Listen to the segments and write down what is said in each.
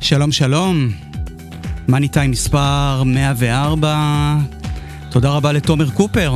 שלום שלום, מאני טיים מספר 104, תודה רבה לתומר קופר.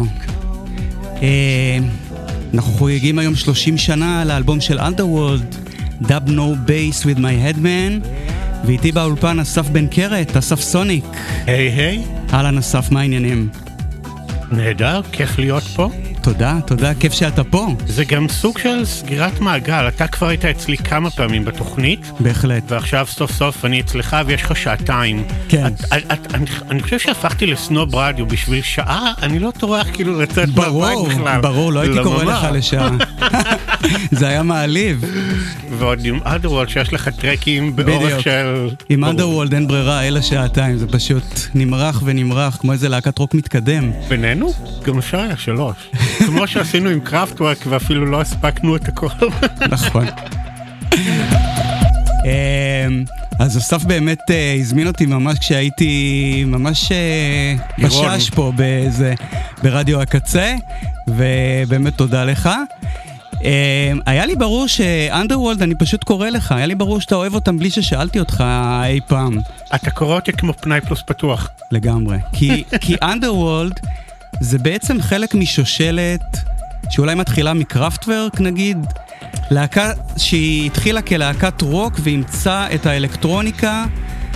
אנחנו חוגגים היום 30 שנה לאלבום של Underworld, Dub No Bass with my Headman, ואיתי באולפן אסף בן קרת, אסף סוניק. היי. אהלן אסף, מה העניינים? נהדר, כיף להיות פה. תודה, כיף שאתה פה. זה גם סוג של סגירת מעגל, אתה כבר היית אצלי כמה פעמים בתוכנית. בהחלט. ועכשיו סוף סוף אני אצלך ויש לך שעתיים. כן. אני חושב שהפכתי לסנוב רדיו בשביל שעה, אני לא טורח כאילו לצאת מהבית בכלל. ברור, לא הייתי קורא לך לשעה. זה היה מעליב. ועוד עם Underworld שיש לך טרקים באורך של... עם Underworld אין ברירה, אלא שעתיים, זה פשוט נמרח ונמרח, כמו איזה להקת רוק מתקדם. בינינו? גם אפשר היה 3. כמו שעשינו עם קראפטוורק ואפילו לא הספקנו את הכל. נכון. אז אסף באמת הזמין אותי ממש כשהייתי ממש בשש פה ברדיו הקצה, ובאמת תודה לך. היה לי ברור שאנדרוולד, אני פשוט קורא לך, היה לי ברור שאתה אוהב אותם בלי ששאלתי אותך אי פעם. אתה קורא אותי כמו פנאי פלוס פתוח. לגמרי. כי אנדרוולד זה בעצם חלק משושלת שאולי מתחילה מקראפטוורק נגיד, להקה שהיא התחילה כלהקת רוק ואימצה את האלקטרוניקה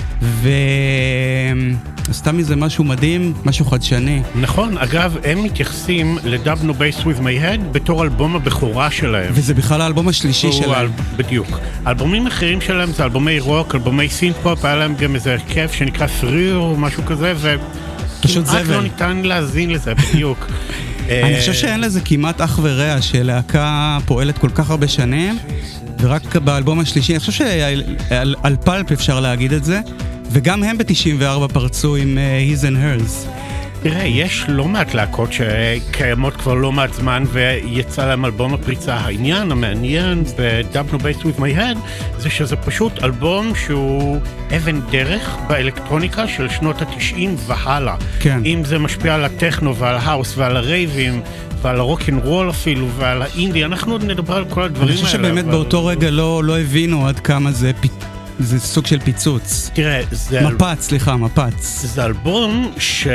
ועשתה מזה משהו מדהים, משהו חדשני. נכון, אגב, הם מתייחסים ל-Dub No Bass With My Head בתור אלבום הבכורה שלהם. וזה בכלל האלבום השלישי שלהם. בדיוק. אלבומים אחרים שלהם זה אלבומי רוק, אלבומי סינט-פופ, היה להם גם איזה הרכב שנקרא Three או משהו כזה, וכמעט לא ניתן להזין לזה, בדיוק. אני חושב שאין לזה כמעט אח ורע שלהקה פועלת כל כך הרבה שנים, ורק באלבום השלישי, אני חושב שעל פלפ אפשר להגיד את זה, וגם הם ב-94 פרצו עם His and Hers. תראה, יש לא מעט להקות שקיימות כבר לא מעט זמן ויצא להם אלבום הפריצה. העניין המעניין ב-Dub No Bass With My Head זה שזה פשוט אלבום שהוא אבן דרך באלקטרוניקה של שנות ה-90 והלאה. כן. אם זה משפיע על הטכנו ועל ההאוס ועל הרייבים ועל הרוק'נ'רול אפילו ועל האינדי, אנחנו עוד נדבר על כל הדברים האלה. אני חושב שבאמת באותו רגע לא הבינו עד כמה זה סוג של פיצוץ. תראה, מפץ. זה אלבום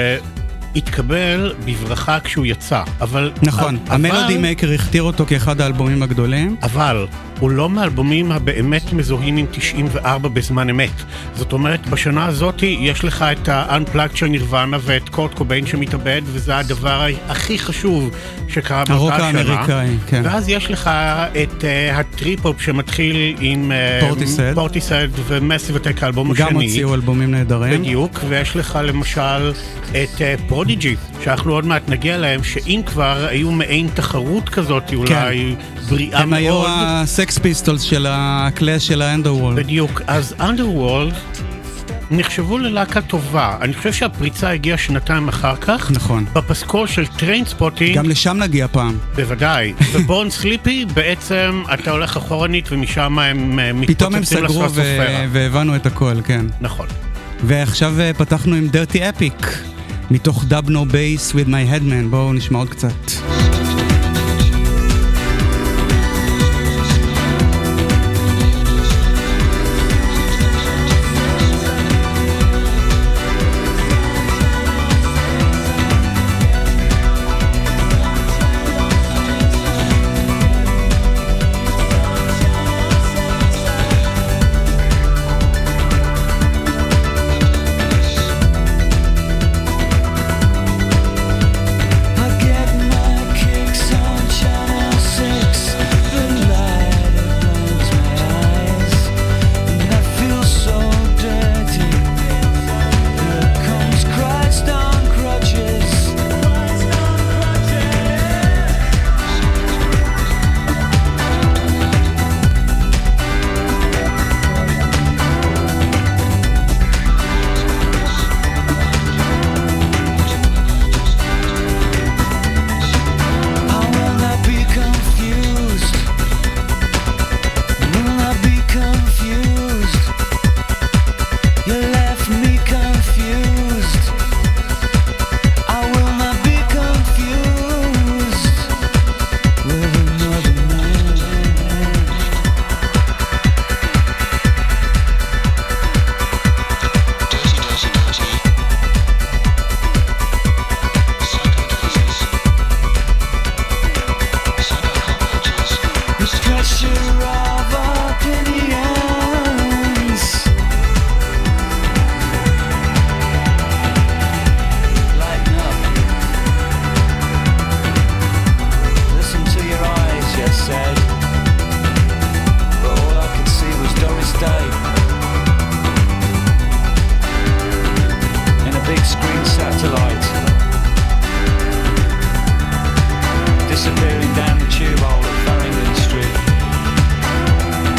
שהתקבל בברכה כשהוא יצא, אבל... נכון, המלודי מייקר הכתיר אותו כאחד האלבומים הגדולים. אבל הוא לא מהאלבומים הבאמת מזוהים עם 94 בזמן אמת. זאת אומרת, בשנה הזאת יש לך את ה-Unplugged של נירוונה ואת קורט קוביין שמתאבד, וזה הדבר הכי חשוב שקרה באותה שנה. הרוק האמריקאי, כן. ואז יש לך את הטריפ-הופ שמתחיל עם פורטיסד ומסיב אטק, האלבום השני. גם הוציאו אלבומים נהדרים. בדיוק, ויש לך למשל את פרודיג'י, שאנחנו עוד מעט נגיע להם, שאם כבר היו מעין תחרות כזאת, אולי בריאה מאוד. הם היו הסקס פיסטולס של הקלאש של האנדרוולד. בדיוק, אז אנדרוולד נחשבו ללהקה טובה. אני חושב שהפריצה הגיעה שנתיים אחר כך. נכון. בפסקול של טריינספוטינג. גם לשם נגיע פעם. בוודאי. ובורן סליפי בעצם אתה הולך אחורנית ומשם הם פתאום הם סגרו והבנו את הכל, כן. נכון. ועכשיו פתחנו עם Dirty Epic, מתוך Dub No Bass With My Headman. בואו נשמע עוד קצת. I get my kick pressure of opinions. Lighten up. Listen to your eyes, you said. But all I could see was Doris Day in a big screen satellite, disappearing down the tube hole at Farringdon Street.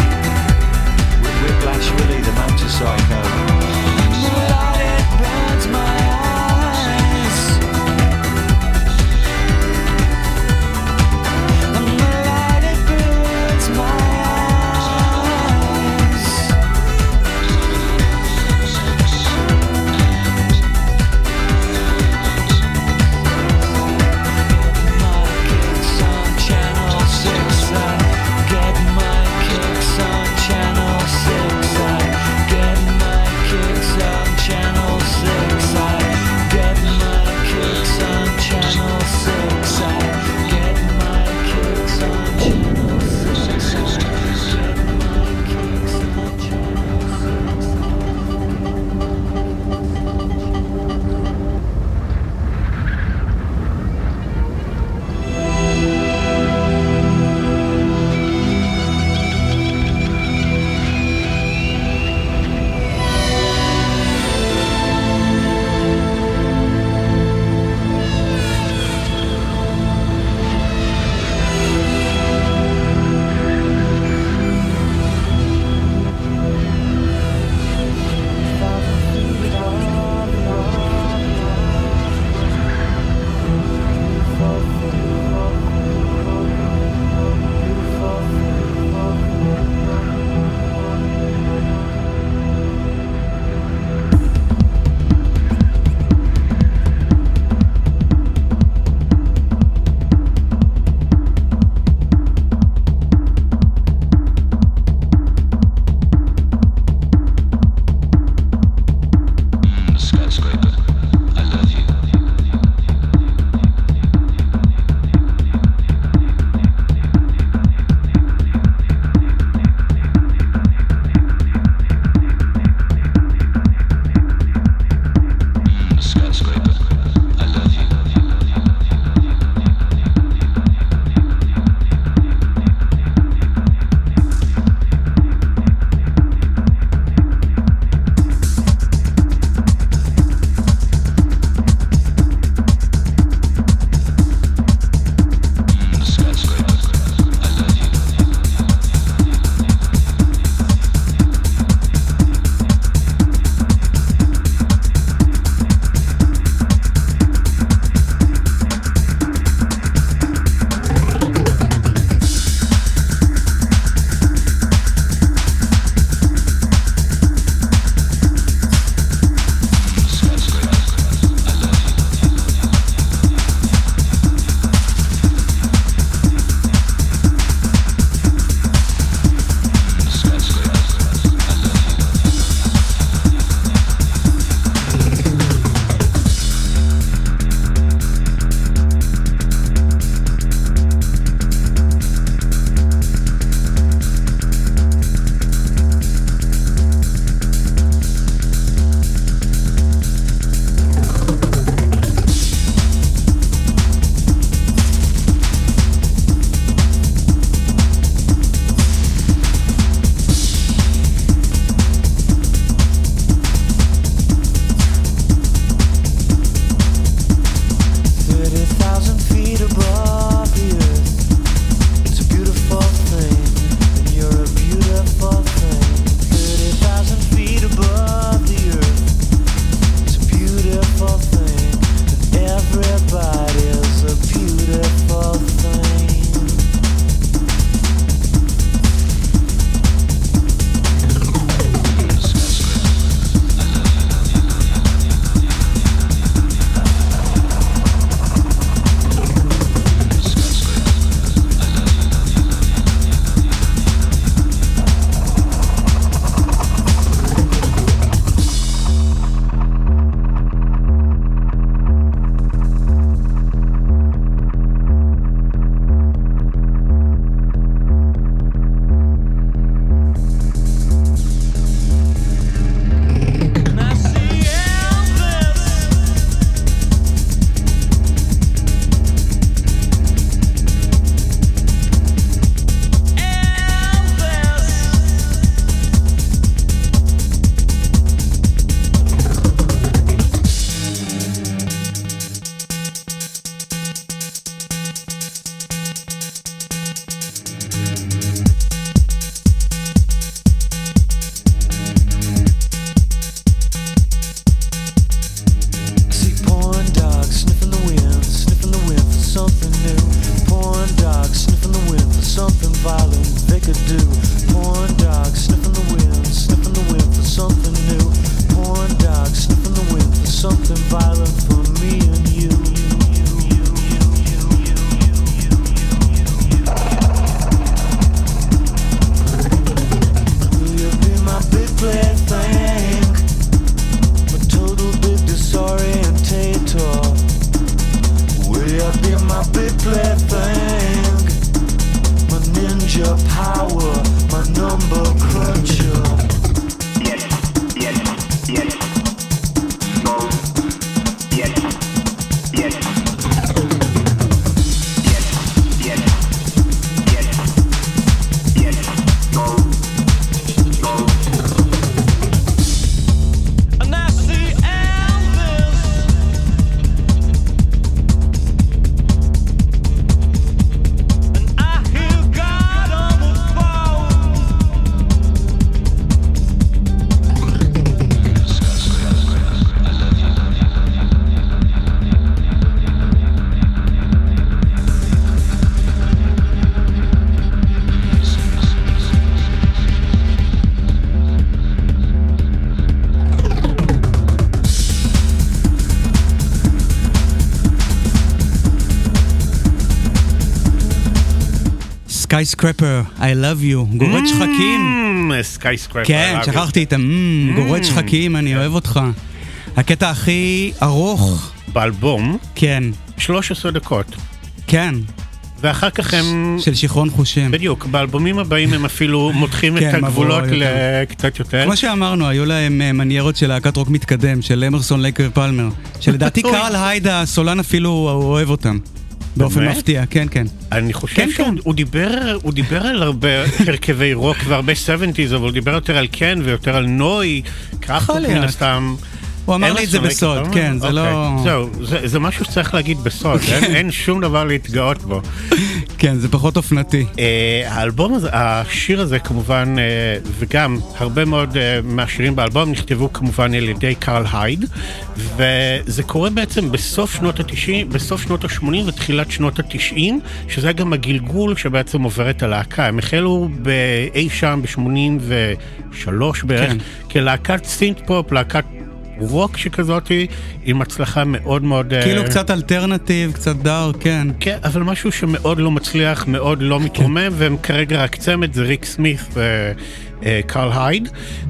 Skyscraper, I love you, גורד שחקים. Skyscraper. כן, שכחתי את גורד שחקים, אני אוהב אותך. הקטע הכי ארוך. באלבום. כן. 13 דקות. כן. ואחר כך הם... של שיכרון חושים. בדיוק, באלבומים הבאים הם אפילו מותחים את הגבולות לקצת יותר. כמו שאמרנו, היו להם מניירות של להקת רוק מתקדם, של אמרסון לייקר פלמר, שלדעתי קרל הייד הסולן אפילו אוהב אותם. באופן מפתיע, כן, כן. אני חושב שהוא דיבר על הרבה הרכבי רוק והרבה 70s, אבל הוא דיבר יותר על קן ויותר על נוי, ככה מן הסתם... הוא אמר לי את זה בסוד, כן, זה לא... זהו, זה משהו שצריך להגיד בסוד, אין שום דבר להתגאות בו. כן, זה פחות אופנתי. האלבום הזה, השיר הזה כמובן, וגם הרבה מאוד מהשירים באלבום נכתבו כמובן על ידי קרל הייד, וזה קורה בעצם בסוף שנות ה-90, בסוף שנות ה-80 ותחילת שנות ה-90, שזה גם הגלגול שבעצם עובר את הלהקה. הם החלו באי שם ב-83 בערך, כלהקת סינט-פופ, להקת רוק שכזאת, עם הצלחה מאוד מאוד... כאילו קצת אלטרנטיב, קצת דארק, כן. כן, אבל משהו שמאוד לא מצליח, מאוד לא מתרומם, והם כרגע רק צמד, זה ריק סמית וקרל הייד,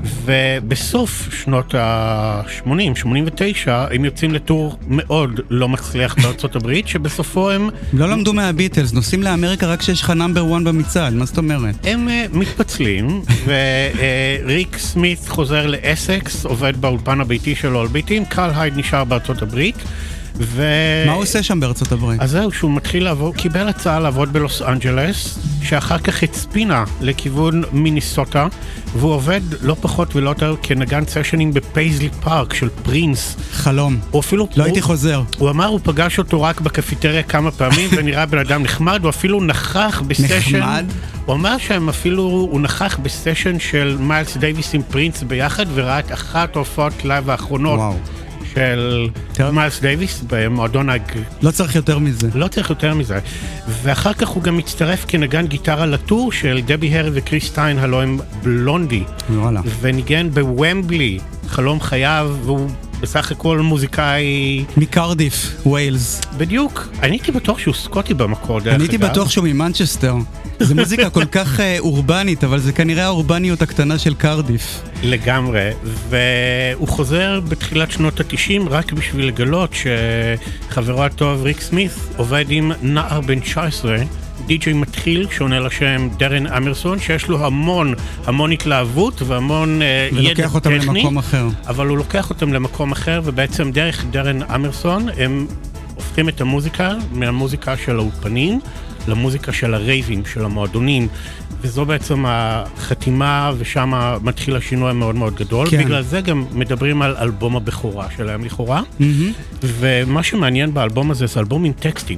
ובסוף שנות ה-80, 89, הם יוצאים לטור מאוד לא מצליח בארצות הברית, שבסופו הם... לא למדו מהביטלס, נוסעים לאמריקה רק שיש לך נאמבר 1 במצעד, מה זאת אומרת? הם מתפצלים, וריק סמית חוזר לאסקס, עובד באולפן הביתי שלו על ביטים, קרל הייד נשאר בארצות הברית, מה הוא עושה שם בארצות הברית? אז זהו, שהוא מתחיל לעבוד, קיבל הצעה לעבוד בלוס אנג'לס, שאחר כך הצפינה לכיוון מיניסוטה, והוא עובד לא פחות ולא יותר כנגן סשנים בפייזלי פארק של פרינס. חלום. לא הייתי חוזר. הוא אמר, הוא פגש אותו רק בקפיטריה כמה פעמים, ונראה בן אדם נחמד, הוא אפילו נכח בסשן. נחמד? הוא אמר שהם אפילו, הוא נכח בסשן של מיילס דייוויס עם פרינס ביחד, וראה את אחת ההופעות לייב האחרונות. וואו. של מיילס דייוויס במועדון לא צריך יותר מזה. לא צריך יותר מזה. ואחר כך הוא גם מצטרף כנגן גיטרה לטור של דבי הרי וקריס סטיין, הלוא הם בלונדי. וואלה. וניגן בוומבלי, חלום חייו, והוא בסך הכל מוזיקאי... מקרדיף, ווילס. בדיוק. אני הייתי בטוח שהוא סקוטי במקור, דרך אגב. אני הייתי בטוח שהוא ממנצ'סטר. זו מוזיקה כל כך אורבנית, אבל זה כנראה האורבניות הקטנה של קרדיף. לגמרי, והוא חוזר בתחילת שנות ה-90 רק בשביל לגלות שחברו הטוב ריק סמית עובד עם נער בן 19, די-ג'יי מתחיל שעונה לשם דרן אמרסון, שיש לו המון התלהבות והמון ידע טכני. ולוקח אותם למקום אחר. אבל הוא לוקח אותם למקום אחר, ובעצם דרך דרן אמרסון הם הופכים את המוזיקה מהמוזיקה של האולפנים, למוזיקה של הרייבים, של המועדונים, וזו בעצם החתימה, ושם מתחיל השינוי המאוד מאוד גדול. כן. בגלל זה גם מדברים על אלבום הבכורה שלהם לכאורה, ומה שמעניין באלבום הזה זה אלבום עם טקסטים.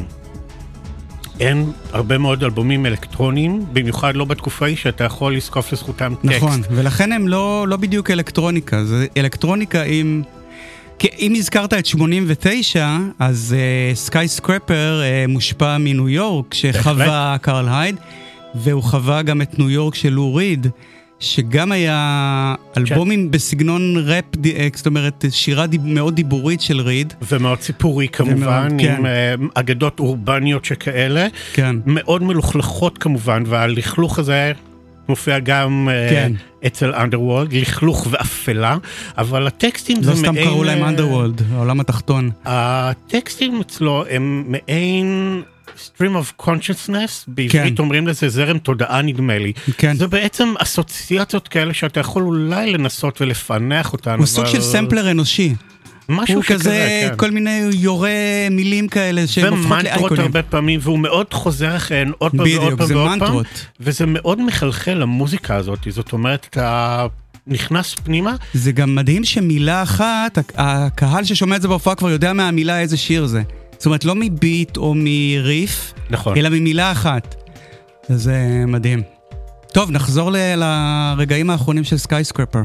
אין הרבה מאוד אלבומים אלקטרוניים, במיוחד לא בתקופה היא שאתה יכול לזקוף לזכותם טקסט. נכון, ולכן הם לא בדיוק אלקטרוניקה, זה אלקטרוניקה עם... אם הזכרת את 89, אז סקייסקרפר מושפע מניו יורק, שחווה קרל הייד, והוא חווה גם את ניו יורק של לו ריד, שגם היה אלבומים בסגנון ראפ, זאת אומרת, שירה מאוד דיבורית של ריד. ומאוד סיפורי כמובן, עם אגדות אורבניות שכאלה, מאוד מלוכלכות כמובן, והלכלוך הזה... מופיע גם אצל אנדרוולד, לכלוך ואפלה, אבל הטקסטים זה מעין... לא סתם קראו להם אנדרוולד, העולם התחתון. הטקסטים אצלו הם מעין stream of consciousness, בעברית אומרים לזה זרם תודעה נדמה לי. זה בעצם אסוציאציות כאלה שאתה יכול אולי לנסות ולפענח אותן. הוא סוג של סמפלר אנושי. הוא כזה, כל מיני יורה מילים כאלה שהן הופכות לאייקונים. ומנטרות הרבה פעמים, והוא מאוד חוזר אחריהן עוד פעם ועוד פעם ועוד פעם. וזה מאוד מחלחל למוזיקה הזאת, זאת אומרת, אתה נכנס פנימה. זה גם מדהים שמילה אחת, הקהל ששומע את זה בהופעה כבר יודע מהמילה איזה שיר זה. זאת אומרת, לא מביט או מריף, אלא ממילה אחת. זה מדהים. טוב, נחזור לרגעים האחרונים של סקייסקרפר.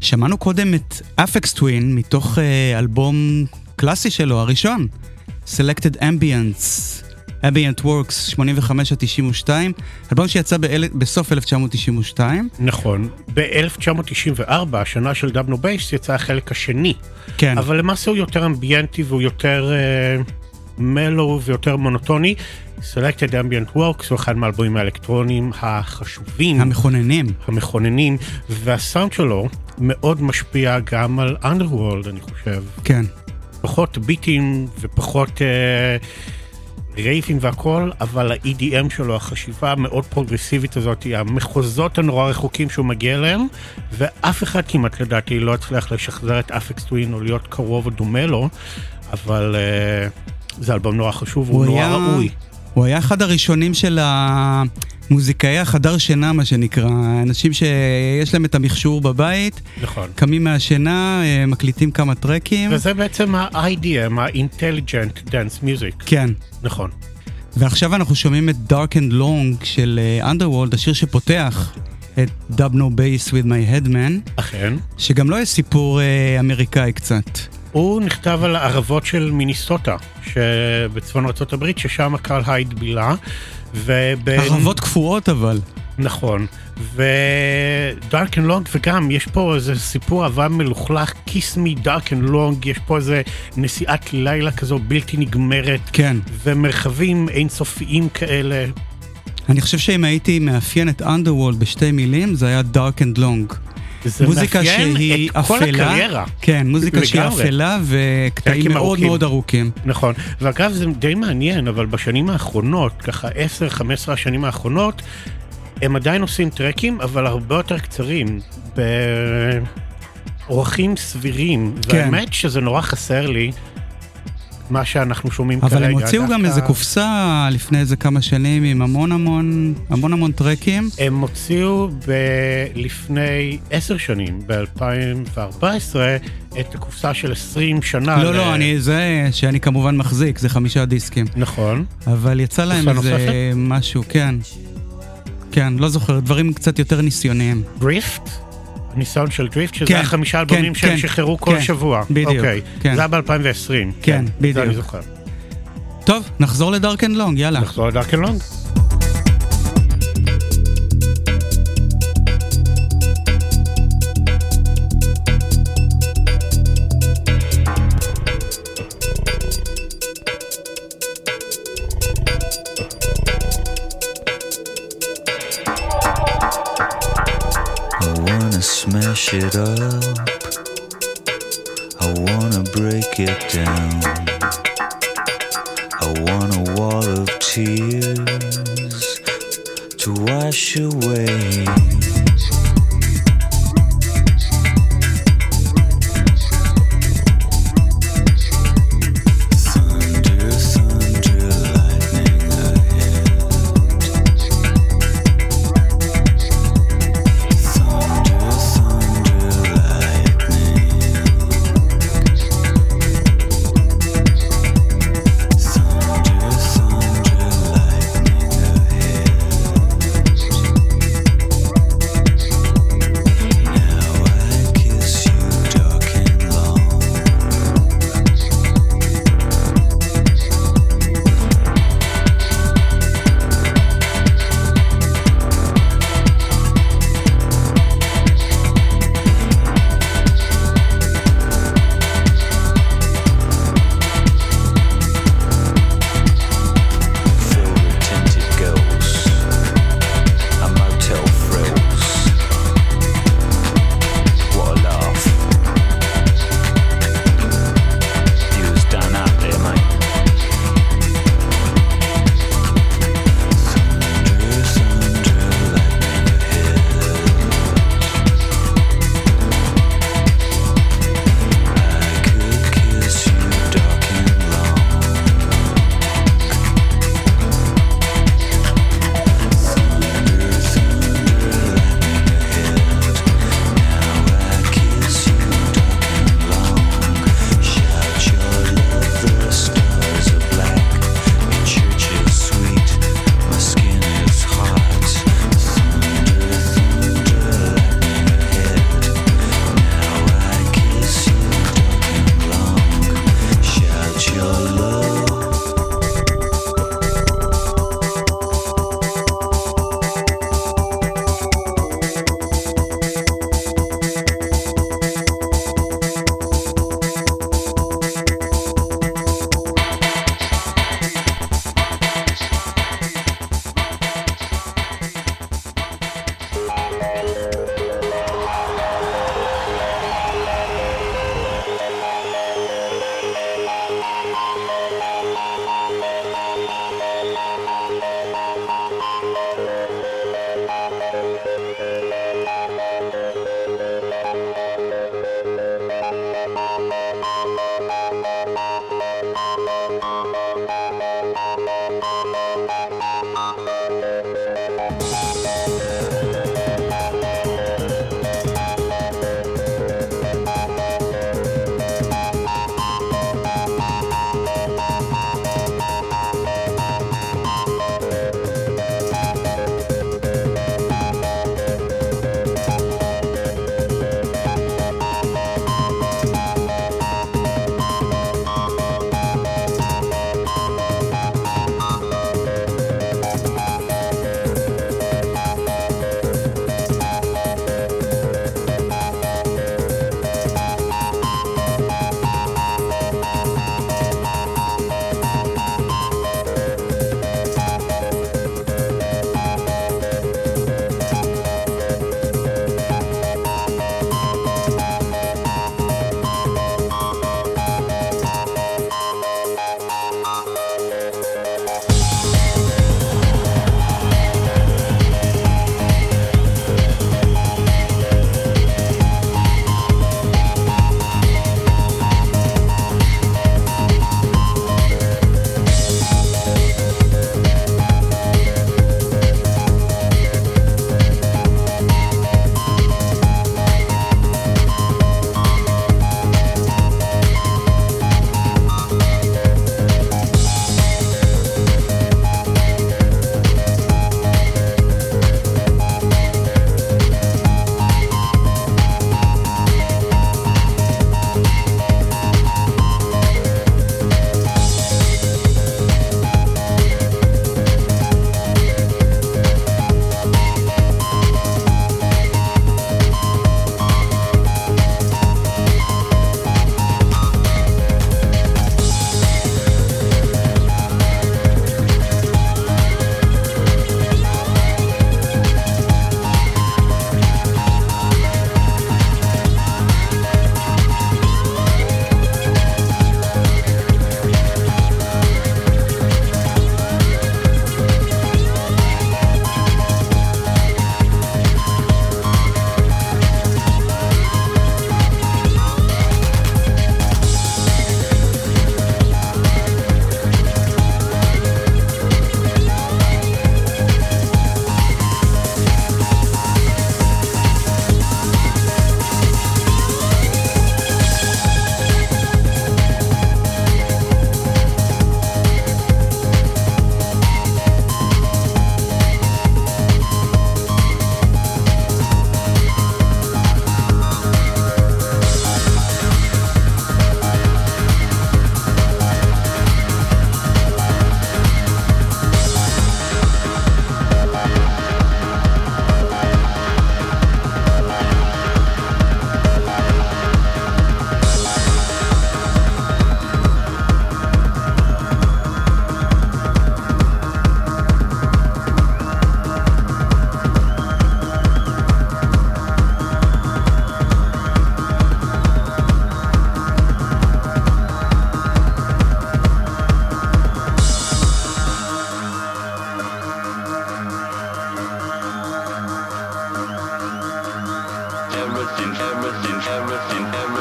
שמענו קודם את אפקס טווין מתוך אלבום קלאסי שלו, הראשון, Selected Ambient Works 85-92, אלבום שיצא בסוף 1992. נכון, ב-1994, השנה של דאבנו בייס, יצא החלק השני. כן. אבל למעשה הוא יותר אמביינטי והוא יותר מלו ויותר מונוטוני. Selected Ambient Works הוא אחד מהאלבומים האלקטרוניים החשובים. המכוננים, והסאונד שלו מאוד משפיע גם על Underworld, אני חושב. כן. פחות ביטים ופחות רייפים והכל, אבל ה-EDM שלו, החשיבה המאוד פרוגרסיבית הזאת, המחוזות הנורא רחוקים שהוא מגיע אליהם, ואף אחד כמעט לדעתי לא הצליח לשחזר את אפקס טווין או להיות קרוב או דומה לו, אבל זה אלבום נורא חשוב, הוא נורא ראוי. הוא היה אחד הראשונים של המוזיקאי החדר שינה, מה שנקרא, אנשים שיש להם את המכשור בבית, נכון. קמים מהשינה, מקליטים כמה טרקים. וזה בעצם ה-IDM, ה-Intelligent Dance Music. כן. נכון. ועכשיו אנחנו שומעים את Dark and Long של Underworld, השיר שפותח את Dub No Bass with My Headman. אכן. שגם לא יש סיפור אמריקאי קצת. הוא נכתב על הערבות של מיניסוטה, שבצפון ארצות הברית, ששם הקהל הייד בילה. ערבות קפואות אבל. נכון. ודארק אנד לונג, וגם יש פה איזה סיפור אהבה מלוכלך, Kiss Me Dark and Long, יש פה איזה נסיעת לילה כזו בלתי נגמרת. כן. ומרחבים אינסופיים כאלה. אני חושב שאם הייתי מאפיין את Underworld בשתי מילים, זה היה Dark and Long. מוזיקה שהיא אפלה, כן, מוזיקה שהיא אפלה וקטעים מאוד מאוד ארוכים. נכון, ואגב זה די מעניין, אבל בשנים האחרונות, ככה 10-15 השנים האחרונות, הם עדיין עושים טרקים, אבל הרבה יותר קצרים, באורחים סבירים, והאמת שזה נורא חסר לי, מה שאנחנו שומעים כרגע. אבל הם הוציאו גם איזה קופסה לפני איזה כמה שנים עם המון טרקים. הם הוציאו לפני 10 שנים, ב-2014, את הקופסה של 20 שנה. לא, זה שאני כמובן מחזיק, זה 5 דיסקים. נכון. אבל יצא להם איזה משהו, כן. כן, לא זוכר, דברים קצת יותר ניסיוניים. דריפט? ניסיון של דריפט, שזה 5 אלבומים שהם שחררו כל שבוע. בדיוק. אוקיי, זה היה ב-2020. כן, בדיוק. זה אני זוכר. טוב, נחזור לדארק אנד לונג, יאללה. נחזור לדארק אנד לונג. Smash it up, I wanna break it down, I want a wall of tears to wash away.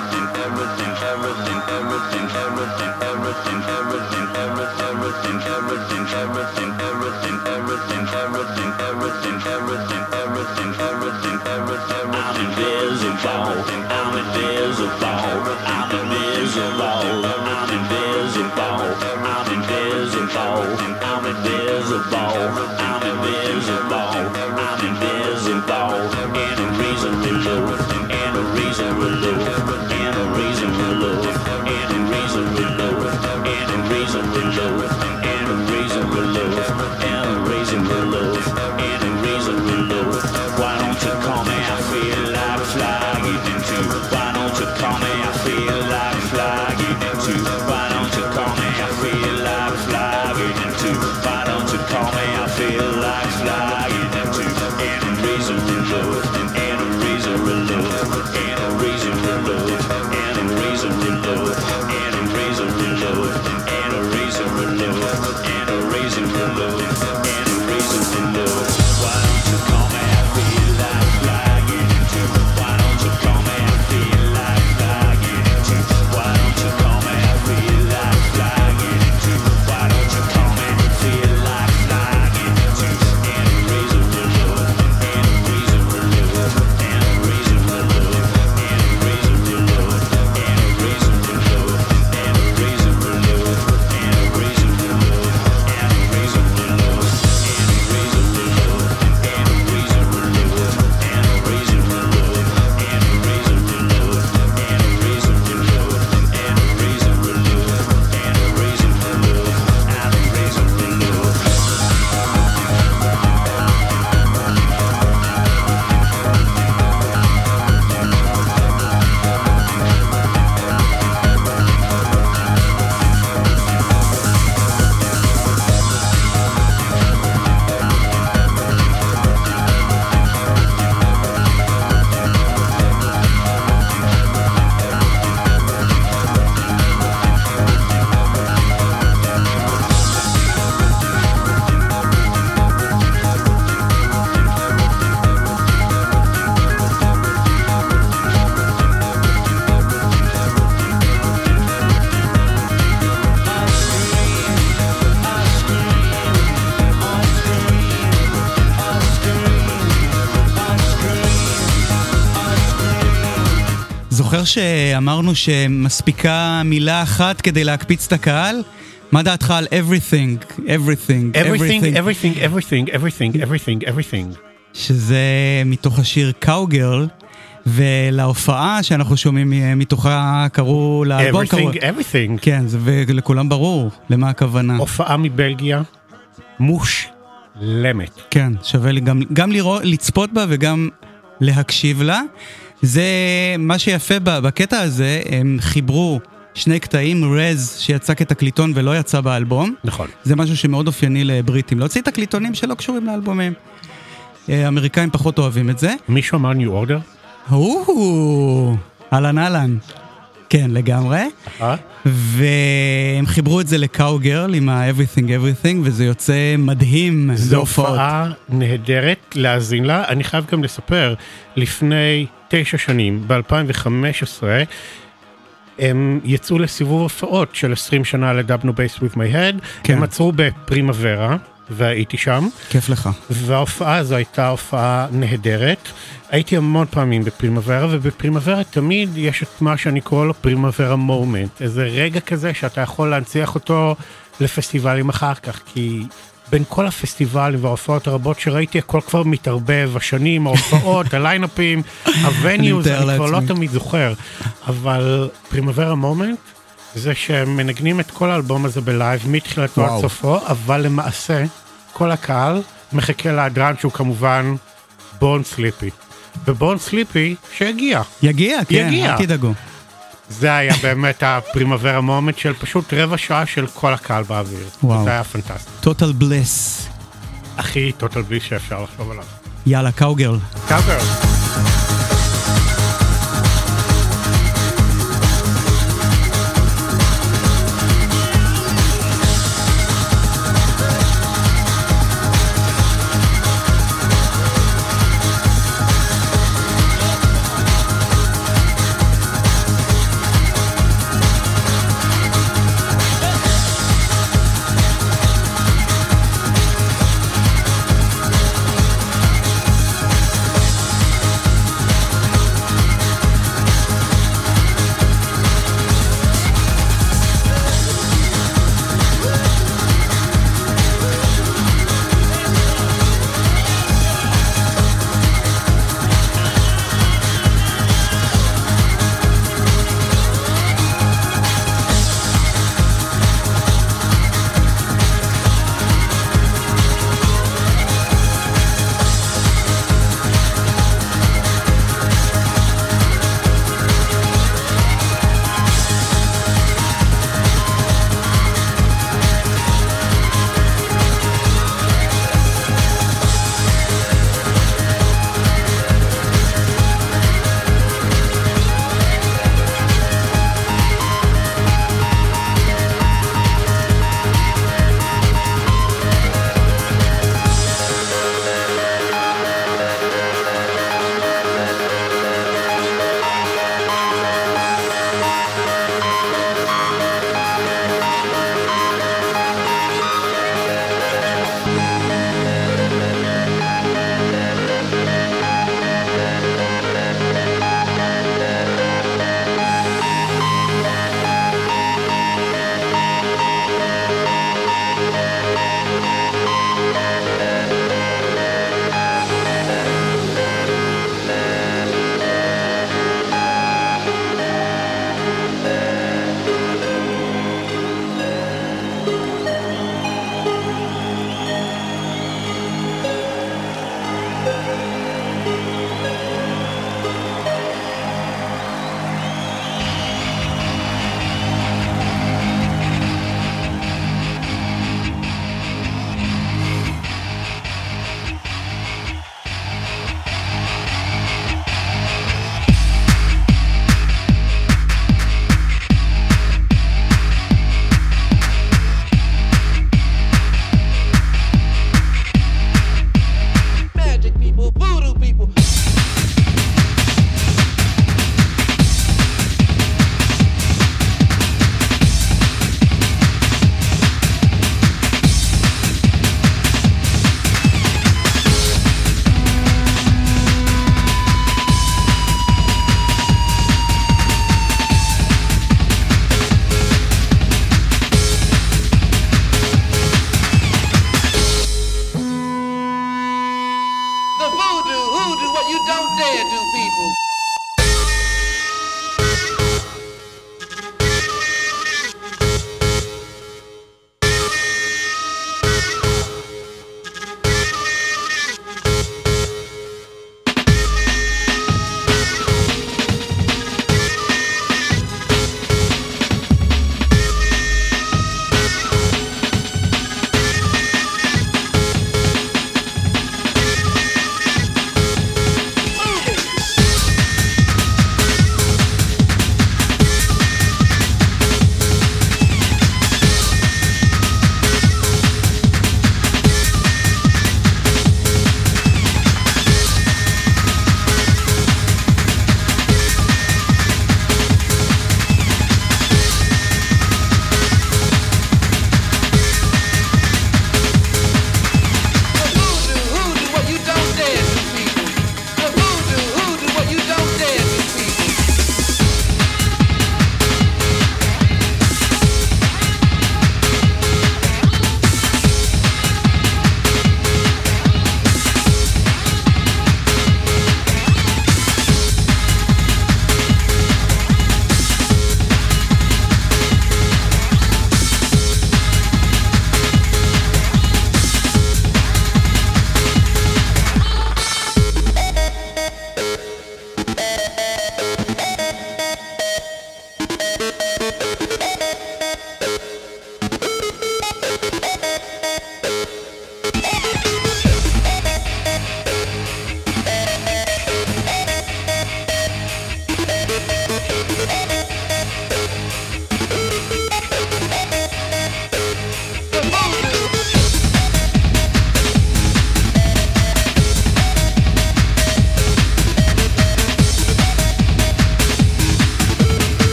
זוכר שאמרנו שמספיקה מילה אחת כדי להקפיץ את הקהל? מה דעתך על everything, everything, everything, everything, everything, everything, everything, everything. שזה מתוך השיר קאוגרל, ולהופעה שאנחנו שומעים מתוכה קראו לאלבום everything, everything. כן, ולכולם ברור למה הכוונה. הופעה מבלגיה, מושלמת. כן, שווה לי גם לצפות בה וגם להקשיב לה. זה מה שיפה בקטע הזה, הם חיברו שני קטעים, רז שיצא כתקליטון ולא יצא באלבום. נכון. זה משהו שמאוד אופייני לבריטים, להוציא תקליטונים שלא קשורים לאלבומים. האמריקאים פחות אוהבים את זה. מישהו אמר ניו אורדר? אהלן אהלן. כן, לגמרי. והם חיברו את זה לקאוגרל עם ה-Everything Everything, וזה יוצא מדהים. זו הופעה נהדרת להאזין לה. אני חייב גם לספר, לפני 9 שנים, ב-2015, הם יצאו לסיבוב הופעות של 20 שנה לדאבנו בייס with my head. כן. הם עצרו בפרימוורה, והייתי שם. כיף לך. וההופעה הזו הייתה הופעה נהדרת. הייתי המון פעמים בפרימוורה, ובפרימוורה תמיד יש את מה שאני קורא לו פרימוורה מומנט. איזה רגע כזה שאתה יכול להנציח אותו לפסטיבלים אחר כך, כי בין כל הפסטיבלים וההופעות הרבות שראיתי, הכל כבר מתערבב, השנים, ההופעות, הליינאפים, הווניוז, אני כבר לא תמיד זוכר. אבל פרימוורה מומנט, זה שהם מנגנים את כל האלבום הזה בלייב, מתחילתו עד סופו, אבל למעשה, כל הקהל מחכה לאדרן שהוא כמובן בורן סליפי. ובורן סליפי שיגיע. יגיע, כן, אל תדאגו. זה היה באמת הפרימוורה מומנט של פשוט רבע שעה של כל הקהל באוויר. וואו. זה היה פנטסטי. טוטל בלס. הכי טוטל בלס שאפשר לחשוב עליו. יאללה, קאוגרל. קאוגרל.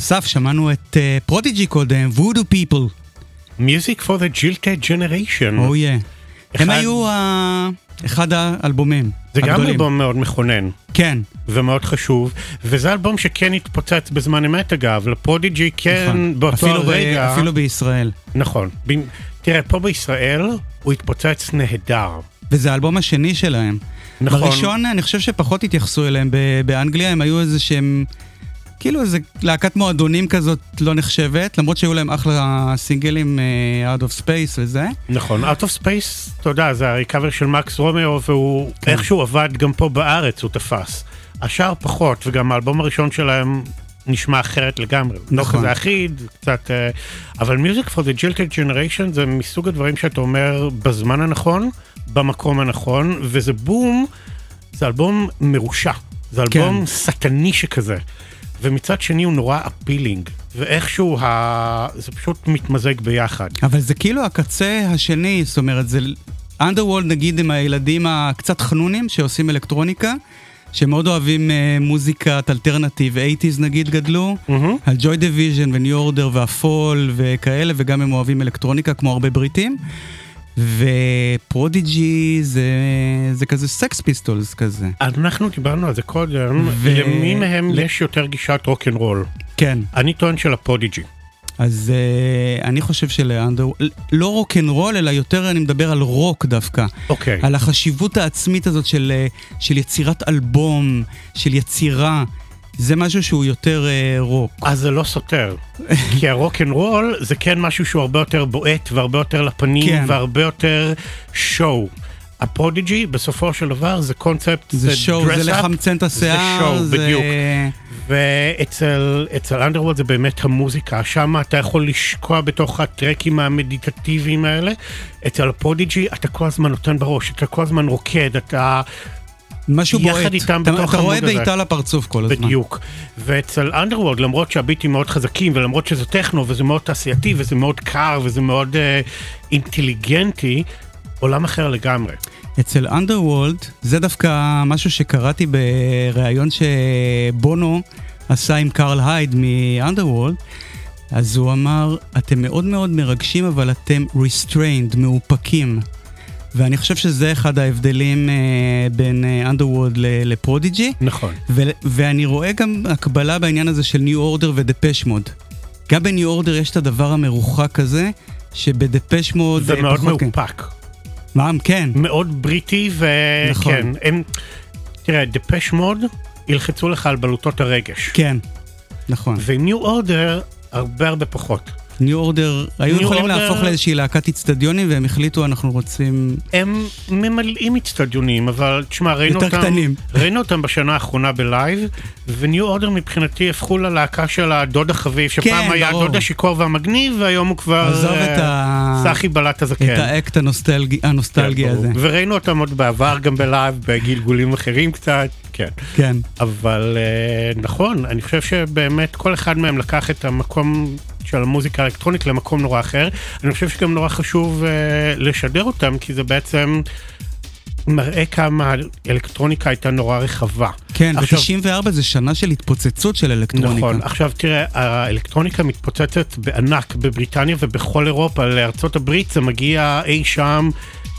אסף, שמענו את פרודיג'י קודם, Voodoo People. Music for the Jilted Generation. Oh yeah. הם היו אחד האלבומים זה הגדולים. גם אלבום מאוד מכונן. כן. ומאוד חשוב, וזה אלבום שכן התפוצץ בזמן אמת אגב, לפרודיג'י כן נכון. באותו הרגע. אפילו בישראל. נכון. תראה, פה בישראל הוא התפוצץ נהדר. וזה האלבום השני שלהם. נכון. בראשון אני חושב שפחות התייחסו אליהם באנגליה, הם היו איזה שהם, כאילו איזה להקת מועדונים כזאת לא נחשבת, למרות שהיו להם אחלה סינגלים, Out of Space וזה. נכון, Out of Space, אתה יודע, זה הריקאבר של מקס רומאו, והוא איכשהו עבד גם פה בארץ, הוא תפס. השאר פחות, וגם האלבום הראשון שלהם נשמע אחרת לגמרי. נכון. לא כזה אחיד, קצת... אבל Music for the Jilted Generation זה מסוג הדברים שאתה אומר בזמן הנכון, במקום הנכון, וזה בום, זה אלבום מרושע. זה אלבום סטני שכזה. ומצד שני הוא נורא אפילינג, ואיכשהו זה פשוט מתמזג ביחד. אבל זה כאילו הקצה השני, זאת אומרת, זה Underworld נגיד עם הילדים הקצת חנונים שעושים אלקטרוניקה, שמאוד אוהבים מוזיקת אלטרנטיב, 80s נגיד גדלו, על Joy Division ו-New Order והפול וכאלה, וגם הם אוהבים אלקטרוניקה כמו הרבה בריטים. ופרודיג'י זה כזה סקס פיסטולס כזה. אנחנו דיברנו על זה קודם, למי מהם יש יותר גישת רוק אנד רול? כן. אני טוען של הפרודיג'י. אז אני חושב לא רוק אנד רול, אלא יותר אני מדבר על רוק דווקא. אוקיי. על החשיבות העצמית הזאת של יצירת אלבום, של יצירה. זה משהו שהוא יותר רוק. אז זה לא סותר. כי הרוק אנד רול זה כן משהו שהוא הרבה יותר בועט והרבה יותר לפנים, כן. והרבה יותר שואו. הפרודיג'י בסופו של דבר זה קונספט, זה שואו, זה לחמצן את השיער. זה שואו, בדיוק. ואצל אנדרוולד זה באמת המוזיקה. שם אתה יכול לשקוע בתוך הטרקים המדיטטיביים האלה. אצל הפרודיג'י אתה כל הזמן נותן בראש, אתה כל הזמן רוקד, אתה... משהו בועט, אתה רואה בעיטה לפרצוף כל הזמן. בדיוק. ואצל אנדרוולד, למרות שהביטים מאוד חזקים, ולמרות שזה טכנו, וזה מאוד תעשייתי, וזה מאוד קר, וזה מאוד אינטליגנטי, עולם אחר לגמרי. אצל אנדרוולד, זה דווקא משהו שקראתי בראיון שבונו עשה עם קרל הייד מאנדרוולד, אז הוא אמר, אתם מאוד מאוד מרגשים, אבל אתם restrained, מאופקים. ואני חושב שזה אחד ההבדלים בין Underworld לפרודיג'י. נכון. ואני רואה גם הקבלה בעניין הזה של New Order ודפש מוד. גם ב-New Order יש את הדבר המרוחק הזה, שבדפש מוד... זה מאוד מאופק. מה? כן. מאוד בריטי וכן. נכון. תראה, דפש מוד ילחצו לך על בלוטות הרגש. כן, נכון. ו-New Order הרבה הרבה פחות. ניו אורדר, היו יכולים להפוך לאיזושהי להקת אצטדיונים, והם החליטו, אנחנו רוצים... הם ממלאים אצטדיונים, אבל תשמע, ראינו אותם בשנה האחרונה בלייב, וניו אורדר מבחינתי הפכו ללהקה של הדוד החביב, שפעם היה הדוד השיכור והמגניב, והיום הוא כבר סחי בלט הזקן. את האקט הנוסטלגי הזה. וראינו אותם עוד בעבר, גם בלייב, בגלגולים אחרים קצת, כן. כן. אבל נכון, אני חושב שבאמת כל אחד מהם לקח את המקום... של המוזיקה האלקטרונית למקום נורא אחר. אני חושב שגם נורא חשוב לשדר אותם, כי זה בעצם מראה כמה האלקטרוניקה הייתה נורא רחבה. כן, ב-94 זה שנה של התפוצצות של אלקטרוניקה. נכון, עכשיו תראה, האלקטרוניקה מתפוצצת בענק בבריטניה ובכל אירופה, לארצות הברית זה מגיע אי שם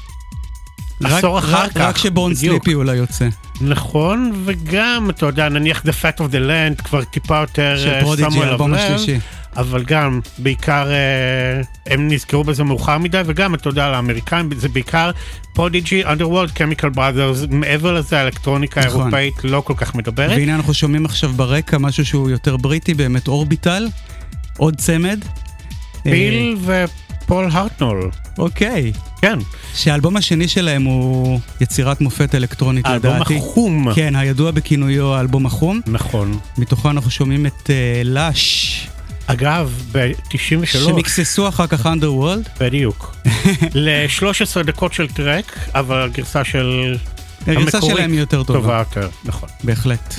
עשור אחר כך. רק שבורן סליפי אולי יוצא. נכון, וגם, אתה יודע, נניח The Fat of the Land כבר טיפה יותר של פרודיג'י, האלבום השלישי. אבל גם, בעיקר, הם נזכרו בזה מאוחר מדי, וגם, אתה יודע, לאמריקאים, זה בעיקר פרודיג'י, Underworld, Chemical Brothers, מעבר לזה, האלקטרוניקה האירופאית לא כל כך מדברת. והנה אנחנו שומעים עכשיו ברקע משהו שהוא יותר בריטי, באמת אורביטל, עוד צמד. ביל ופול הרטנול. אוקיי. כן. שהאלבום השני שלהם הוא יצירת מופת אלקטרונית, לדעתי. האלבום החום. כן, הידוע בכינויו האלבום החום. נכון. מתוכו אנחנו שומעים את לש. אגב, ב-93... שמקססו אחר כך Underworld. בדיוק. ל-13 דקות של טרק, אבל הגרסה של... הגרסה שלהם היא יותר טובה. טובה יותר, נכון. בהחלט.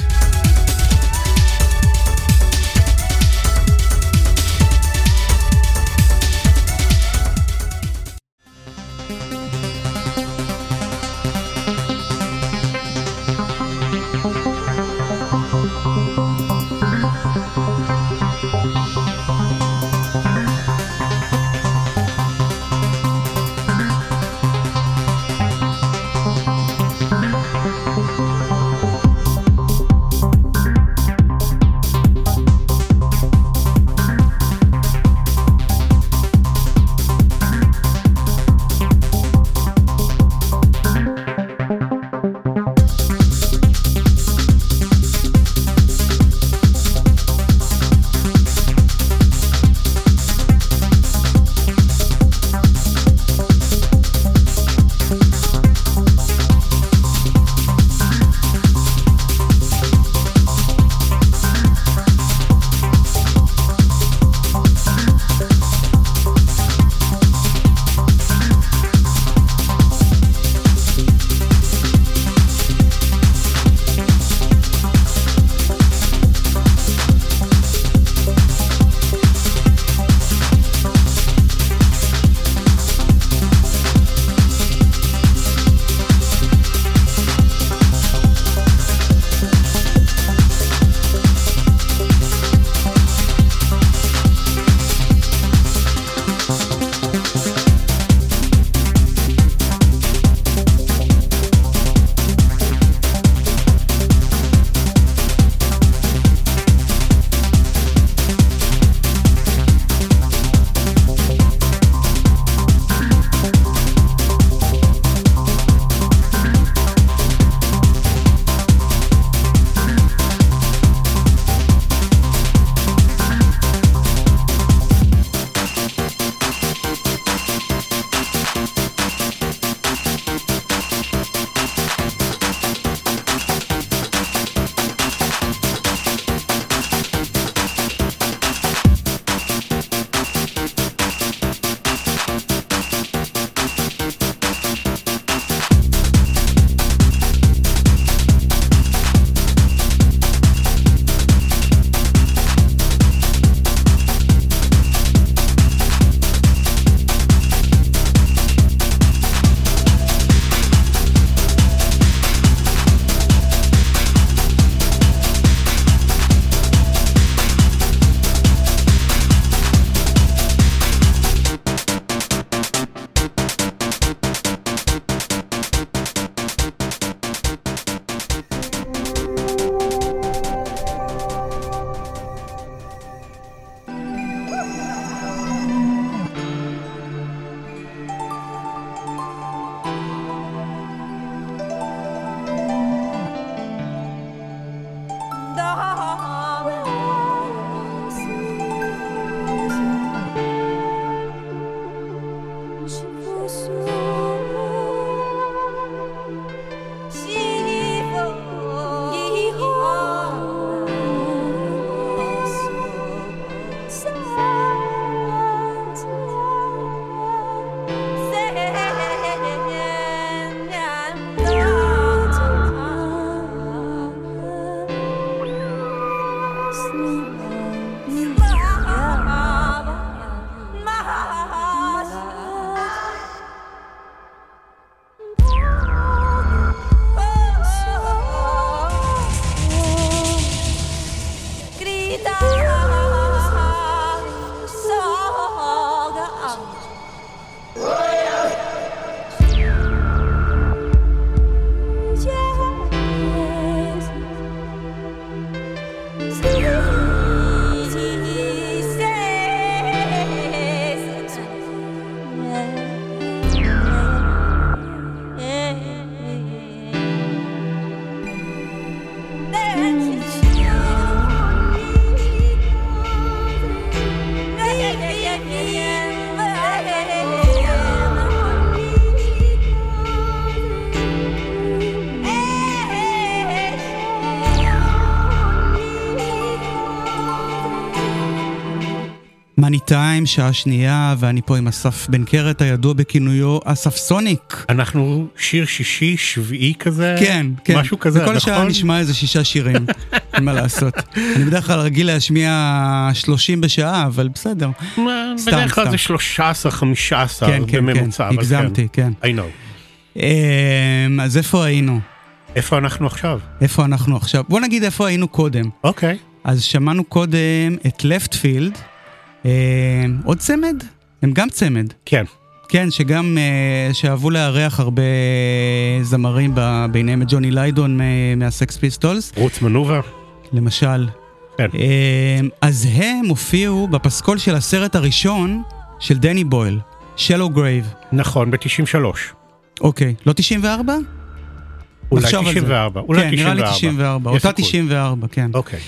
מאני טיים, שעה שנייה, ואני פה עם אסף בן קרת, הידוע בכינויו אסף סוניק. אנחנו שיר שישי, שביעי כזה? כן, כן. משהו כזה, נכון? בכל שעה נשמע איזה 6 שירים, אין מה לעשות. אני בדרך כלל רגיל להשמיע 30 בשעה, אבל בסדר. בדרך כלל זה 13, 15 בממוצע. כן, הגזמתי, כן. I know. אז איפה היינו? איפה אנחנו עכשיו? בוא נגיד איפה היינו קודם. אוקיי. אז שמענו קודם את לפטפילד, עוד צמד? הם גם צמד. כן. כן, שגם שאהבו לארח הרבה זמרים, ביניהם את ג'וני ליידון מהסקס פיסטולס. רוץ מנובה. למשל. כן. אז הם הופיעו בפסקול של הסרט הראשון של דני בויל, שלו גרייב. נכון, ב-93. אוקיי, לא 94? אולי 94. כן, נראה לי 94. אותה 94, כן. אוקיי.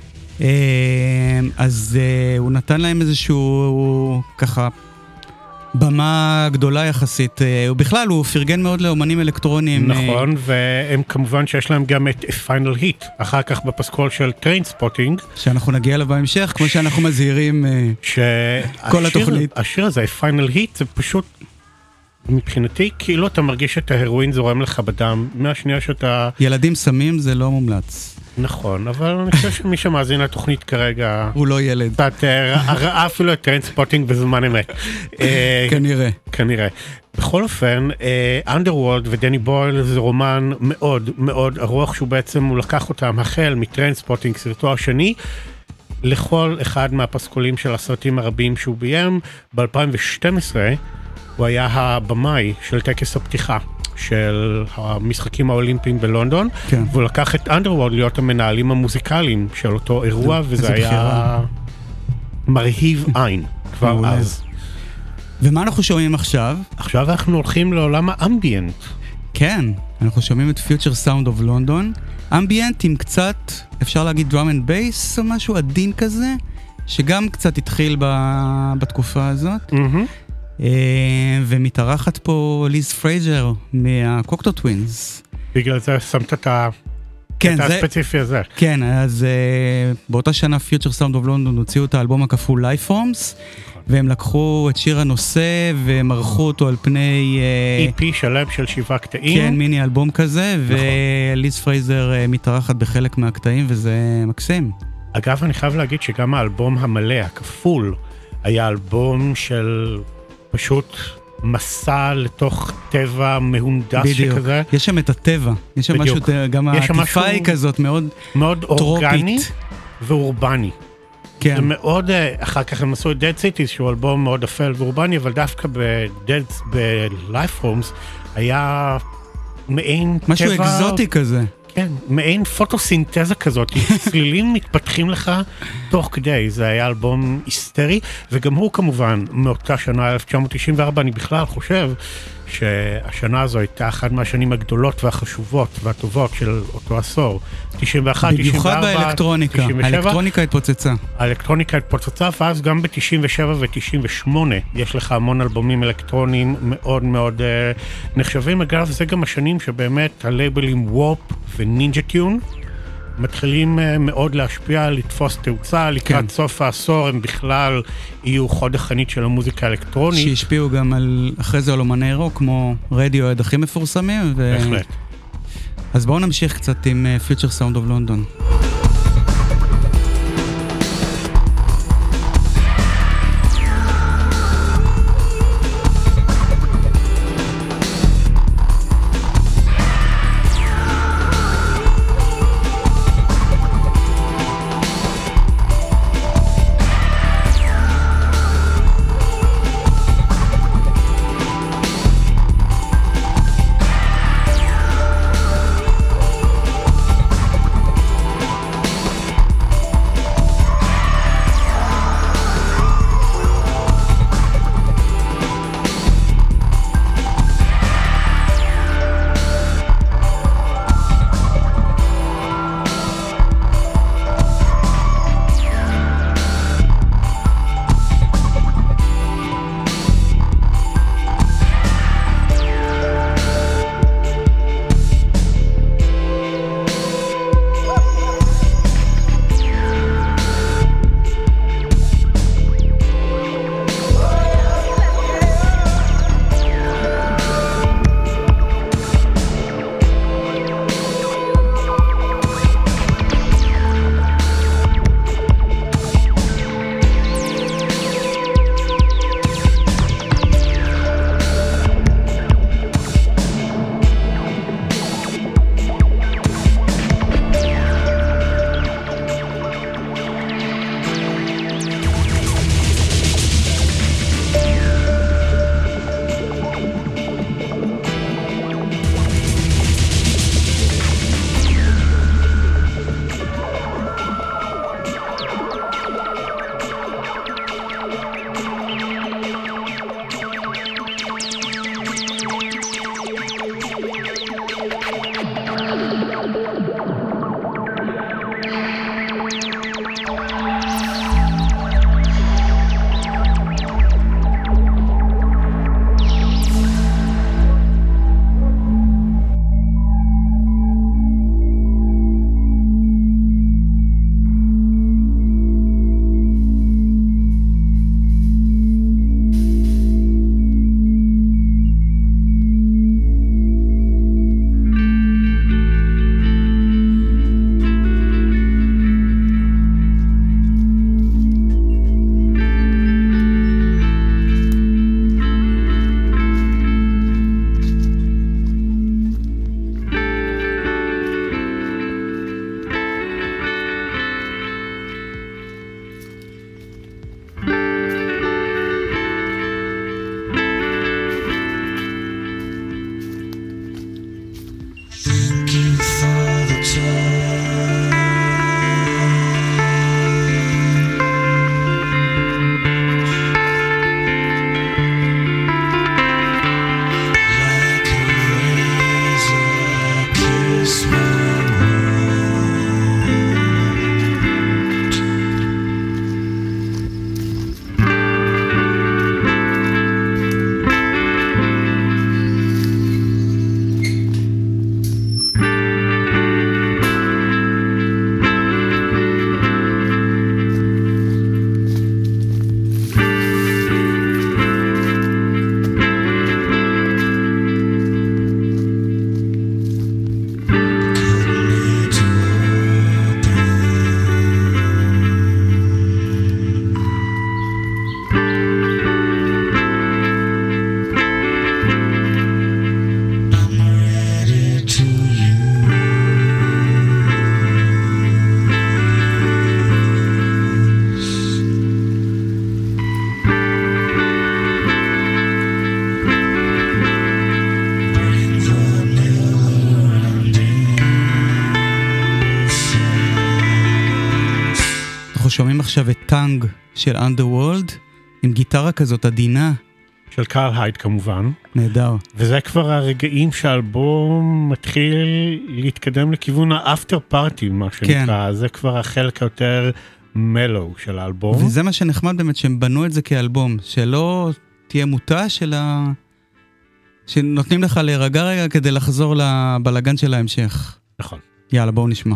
אז הוא נתן להם איזשהו ככה במה גדולה יחסית. ובכלל הוא פרגן מאוד לאומנים אלקטרוניים. נכון, והם כמובן שיש להם גם את פיינל היט, אחר כך בפסקול של טריינספוטינג. שאנחנו נגיע אליו בהמשך, כמו שאנחנו מזהירים כל התוכנית. השיר הזה, פיינל היט, זה פשוט מבחינתי, כאילו אתה מרגיש את ההרואין זורם לך בדם, מהשנייה שאתה... ילדים סמים זה לא מומלץ. נכון, אבל אני חושב שמי שמאזין לתוכנית כרגע... הוא לא ילד. ראה אפילו את טריינספוטינג בזמן אמת. כנראה. בכל אופן, אנדרוולד ודני בויל זה רומן מאוד מאוד ארוך, שהוא בעצם, הוא לקח אותם החל מטריינספוטינג, סרטו השני, לכל אחד מהפסקולים של הסרטים הרבים שהוא ביים. ב-2012 הוא היה הבמאי של טקס הפתיחה של המשחקים האולימפיים בלונדון, כן. והוא לקח את אנדרוולד להיות המנהלים המוזיקליים של אותו אירוע, וזה היה מרהיב עין כבר אז. ומה אנחנו שומעים עכשיו? עכשיו אנחנו הולכים לעולם האמביאנט. כן, אנחנו שומעים את Future Sound of London, אמביאנט עם קצת, אפשר להגיד drum and bass או משהו עדין כזה, שגם קצת התחיל בתקופה הזאת. ומתארחת פה ליז פרייזר מהקוקטו טווינס. בגלל זה שמת את הספציפי הזה. כן, אז באותה שנה Future Sound of London הוציאו את האלבום הכפול Life Forms, והם לקחו את שיר הנושא ומרחו אותו על פני... EP שלם של 7 קטעים. כן, מיני אלבום כזה, וליז פרייזר מתארחת בחלק מהקטעים, וזה מקסים. אגב, אני חייב להגיד שגם האלבום המלא, הכפול, היה אלבום של... פשוט מסע לתוך טבע מהונדס שכזה. בדיוק, יש שם את הטבע, יש שם משהו, גם העטיפה היא כזאת מאוד אורגני ואורבני. כן. זה מאוד, אחר כך הם עשו את Dead Cities, שהוא אלבום מאוד אפל ואורבני, אבל דווקא ב-Life Forms היה מעין טבע... משהו אקזוטי כזה. כן, מעין פוטוסינתזה כזאת, צלילים מתפתחים לך תוך כדי, זה היה אלבום היסטרי, וגם הוא כמובן מאותה שנה 1994, אני בכלל חושב שהשנה הזו הייתה אחת מהשנים הגדולות והחשובות והטובות של אותו עשור, 91, במיוחד 94, באלקטרוניקה, 97, האלקטרוניקה התפוצצה. האלקטרוניקה התפוצצה, ואז גם ב-97 ו-98 יש לך המון אלבומים אלקטרוניים מאוד מאוד נחשבים. אגב, זה גם השנים שבאמת הלייבלים וורפ ונינג'ה טיון מתחילים מאוד להשפיע, לתפוס תאוצה, לקראת סוף העשור הם בכלל יהיו חוד החנית של המוזיקה האלקטרונית. שהשפיעו גם אחרי זה על אומני רוק, כמו רדיו הכי מפורסמים. בהחלט. אז בואו נמשיך קצת עם Future Sound of London. שומעים עכשיו את טאנג של Underworld, עם גיטרה כזאת עדינה. של קארל הייד כמובן. נהדר. וזה כבר הרגעים שהאלבום מתחיל להתקדם לכיוון האפטר פארטי, מה שנקרא. כן. זה כבר החלק היותר מלו של האלבום. וזה מה שנחמד באמת, שהם בנו את זה כאלבום, שלא תהיה מוטה שנותנים לך להירגע רגע כדי לחזור לבלגן של ההמשך. נכון. יאללה, בואו נשמע.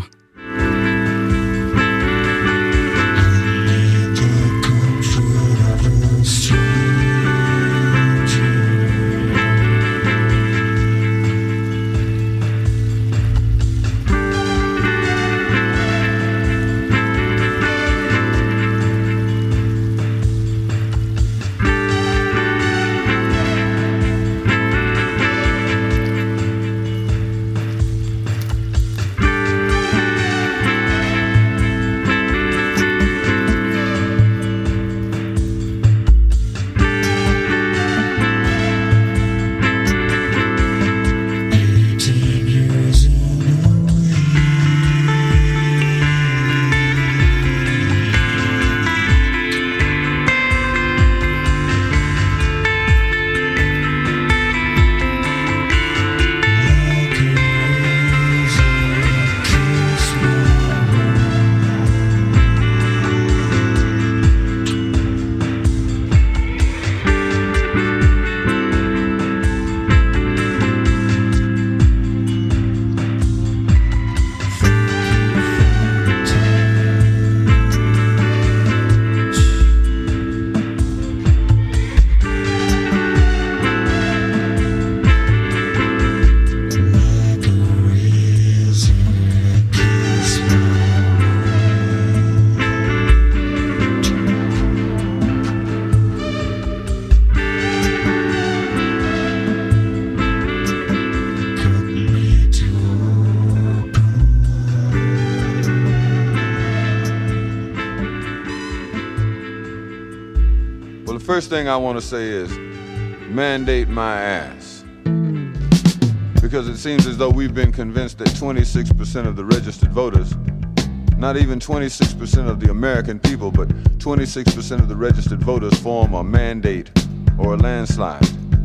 First thing I want to say is mandate my ass. Because it seems as though we've been convinced that 26% of the registered voters, not even 26% of the American people, but 26% of the registered voters form a mandate or a landslide.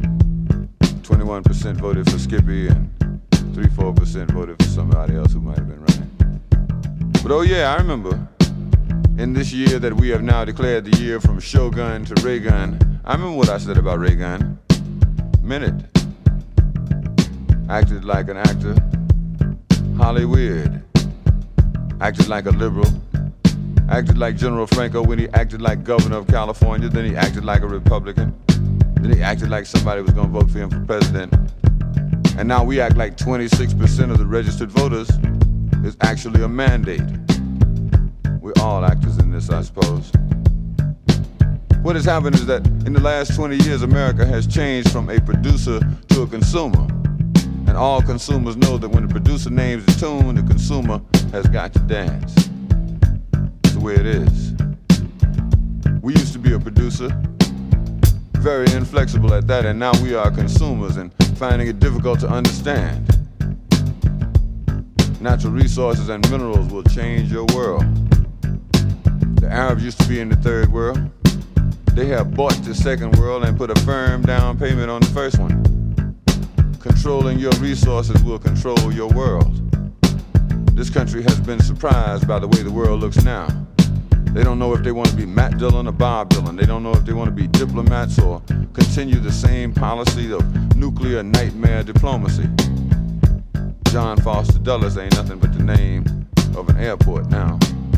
21% voted for Skippy and 3-4% voted for somebody else who might have been running. But oh yeah, I remember in this year that we have now declared the year from Shogun to Reagan, I remember what I said about Reagan. Meant it. Acted like an actor. Hollywood. Acted like a liberal. Acted like General Franco when he acted like governor of California. Then he acted like a Republican. Then he acted like somebody was going to vote for him for president. And now we act like 26% of the registered voters is actually a mandate. We're all actors in this, I suppose. What has happened is that in the last 20 years, America has changed from a producer to a consumer. And all consumers know that when the producer names the tune, the consumer has got to dance. That's the way it is. We used to be a producer, very inflexible at that, and now we are consumers and finding it difficult to understand. Natural resources and minerals will change your world. The Arabs used to be in the third world. They have bought the second world and put a firm down payment on the first one. Controlling your resources will control your world. This country has been surprised by the way the world looks now. They don't know if they want to be Matt Dillon or Bob Dylan. They don't know if they want to be diplomats or continue the same policy of nuclear nightmare diplomacy. John Foster Dulles ain't nothing but the name of an airport now.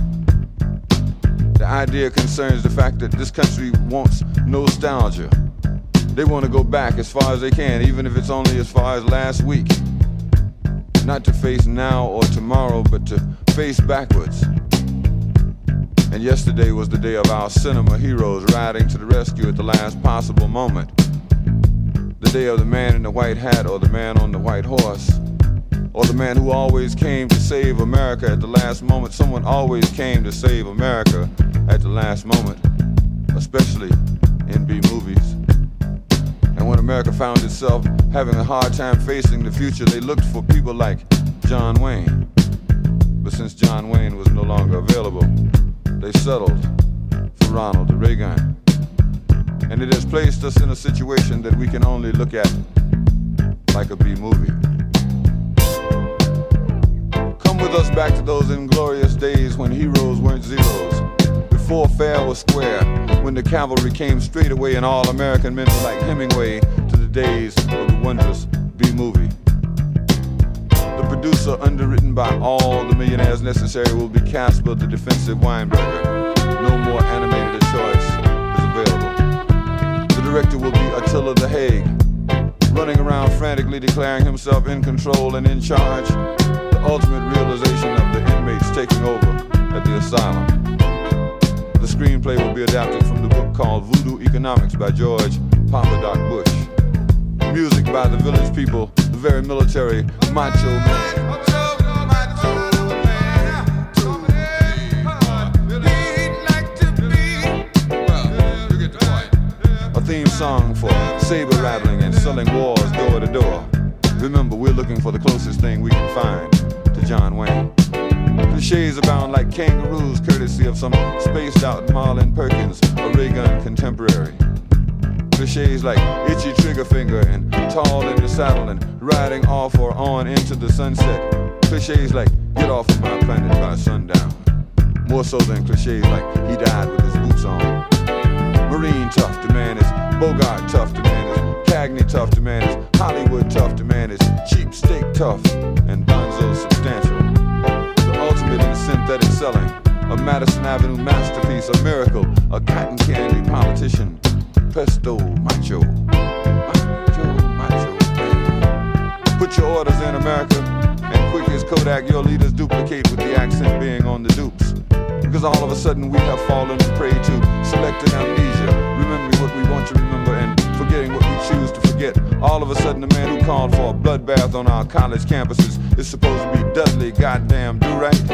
The idea concerns the fact that this country wants nostalgia. They want to go back as far as they can, even if it's only as far as last week. Not to face now or tomorrow, but to face backwards. And yesterday was the day of our cinema heroes riding to the rescue at the last possible moment. The day of the man in the white hat or the man on the white horse. Or the man who always came to save America at the last moment. Someone always came to save America at the last moment, especially in B-movies. And when America found itself having a hard time facing the future, they looked for people like John Wayne. But since John Wayne was no longer available, they settled for Ronald Reagan. And it has placed us in a situation that we can only look at like a B-movie. Come with us back to those inglorious days when heroes weren't zeros, before fair was square, when the cavalry came straight away and all American men were like Hemingway, to the days of the wondrous B-movie. The producer, underwritten by all the millionaires necessary, will be Casper the Defensive Weinberger. No more animated a choice is available. The director will be Attila the Hague, running around frantically declaring himself in control and in charge, the ultimate realization of the inmates taking over at the asylum. The screenplay will be adapted from the book called Voodoo Economics by George Papa Doc Bush. Music by the Village People, the very military Macho Man. A theme song for saber rattling and selling wars door to door. Remember, we're looking for the closest thing we can find to John Wayne. Clichés abound like kangaroos, courtesy of some spaced out Marlon Perkins, a Reagan contemporary. Clichés like itchy trigger finger and tall in the saddle and riding off or on into the sunset. Clichés like get off of my planet by sundown. More so than clichés like he died with his boots on. Marine tough, the man is Bogart tough, the man is Cagney tough, the man is Hollywood tough, the man is cheap steak tough, and Bonzo substantial. The ultimate in synthetic selling, a Madison Avenue masterpiece, a miracle, a cotton candy politician. Pesto macho, macho, macho, man. Put your orders in, America, and quick as Kodak, your leaders duplicate with the accent being on the dupes. Because all of a sudden we have fallen prey to selective amnesia, remembering what we want to remember and forgetting what we choose to forget. All of a sudden the man who called for a bloodbath on our college campuses is supposed to be Dudley goddamn do-right.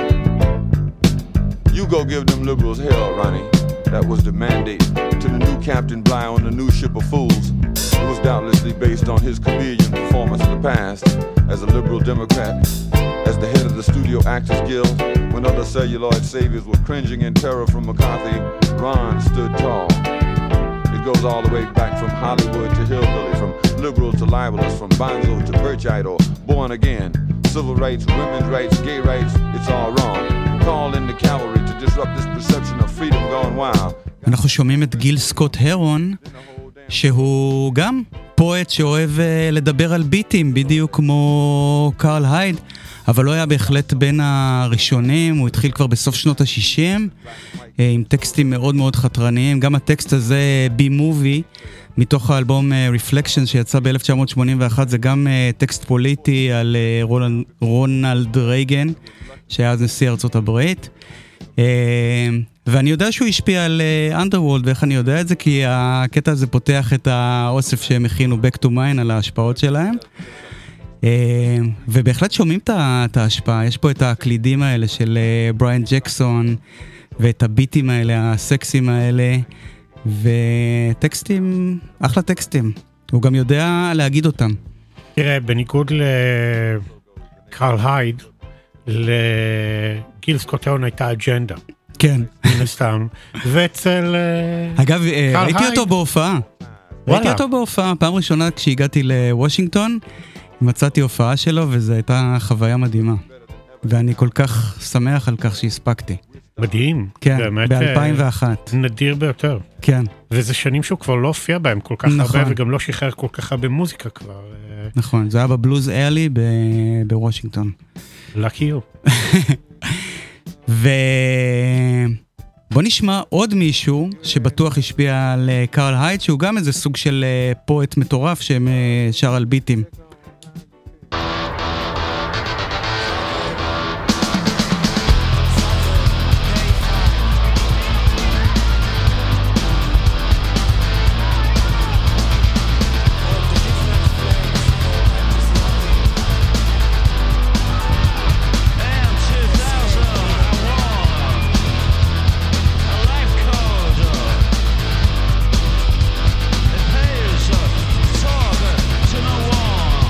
You go give them liberals hell, Ronnie. That was the mandate to the new Captain Bligh on the new ship of fools. It was doubtlessly based on his chameleon performance in the past as a liberal Democrat, as the head of the Studio Actors Guild. When other celluloid saviors were cringing in terror from McCarthy, Ron stood tall. It goes all the way back from Hollywood to hillbilly, from liberal to libelous, from Bonzo to Birchite or Born Again. Civil rights, women's rights, gay rights, it's all wrong. Call in the cavalry to disrupt this perception of freedom gone wild. אנחנו שומעים את גיל סקוט הרון, שהוא גם פואט שאוהב לדבר על ביטים, בדיוק כמו קרל הייד, אבל לא היה בהחלט בין הראשונים, הוא התחיל כבר בסוף שנות ה-60, עם טקסטים מאוד מאוד חתרניים, גם הטקסט הזה, בי-מובי, מתוך האלבום Reflection שיצא ב-1981, זה גם טקסט פוליטי על רונלד רייגן, שהיה אז נשיא ארצות הברית, ואני יודע שהוא השפיע על Underworld, ואיך אני יודע את זה? כי הקטע הזה פותח את האוסף שהם הכינו Back to Mine על ההשפעות שלהם, ובהחלט שומעים את ההשפעה, יש פה את הקלידים האלה של בריאן ג'קסון, ואת הביטים האלה, הסקסים האלה, וטקסטים, אחלה טקסטים, הוא גם יודע להגיד אותם. תראה, בניגוד לקרל הייד, לגיל סקוט הרון הייתה אג'נדה. כן. מן הסתם. ואצל אגב, ראיתי אותו בהופעה. ראיתי אותו בהופעה. פעם ראשונה כשהגעתי לוושינגטון, מצאתי הופעה שלו, וזו הייתה חוויה מדהימה. ואני כל כך שמח על כך שהספקתי. מדהים. כן, ב-2001. נדיר ביותר. כן. וזה שנים שהוא כבר לא הופיע בהם כל כך הרבה, וגם לא שחרר כל כך הרבה מוזיקה כבר. נכון, זה היה בבלוז ארלי בוושינגטון. Lucky you. בוא נשמע עוד מישהו שבטוח השפיע על קרל הייד, שהוא גם איזה סוג של פואט מטורף ששר על ביטים. It pays to talk to no one.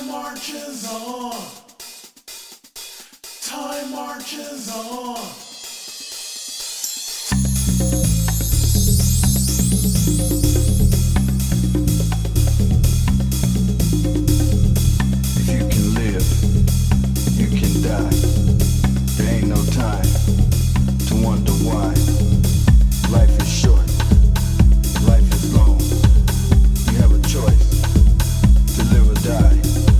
Time marches on. Time marches on. If you can live, you can die. There ain't no time to wonder why. Life is short, life is long. You have a choice to live or die.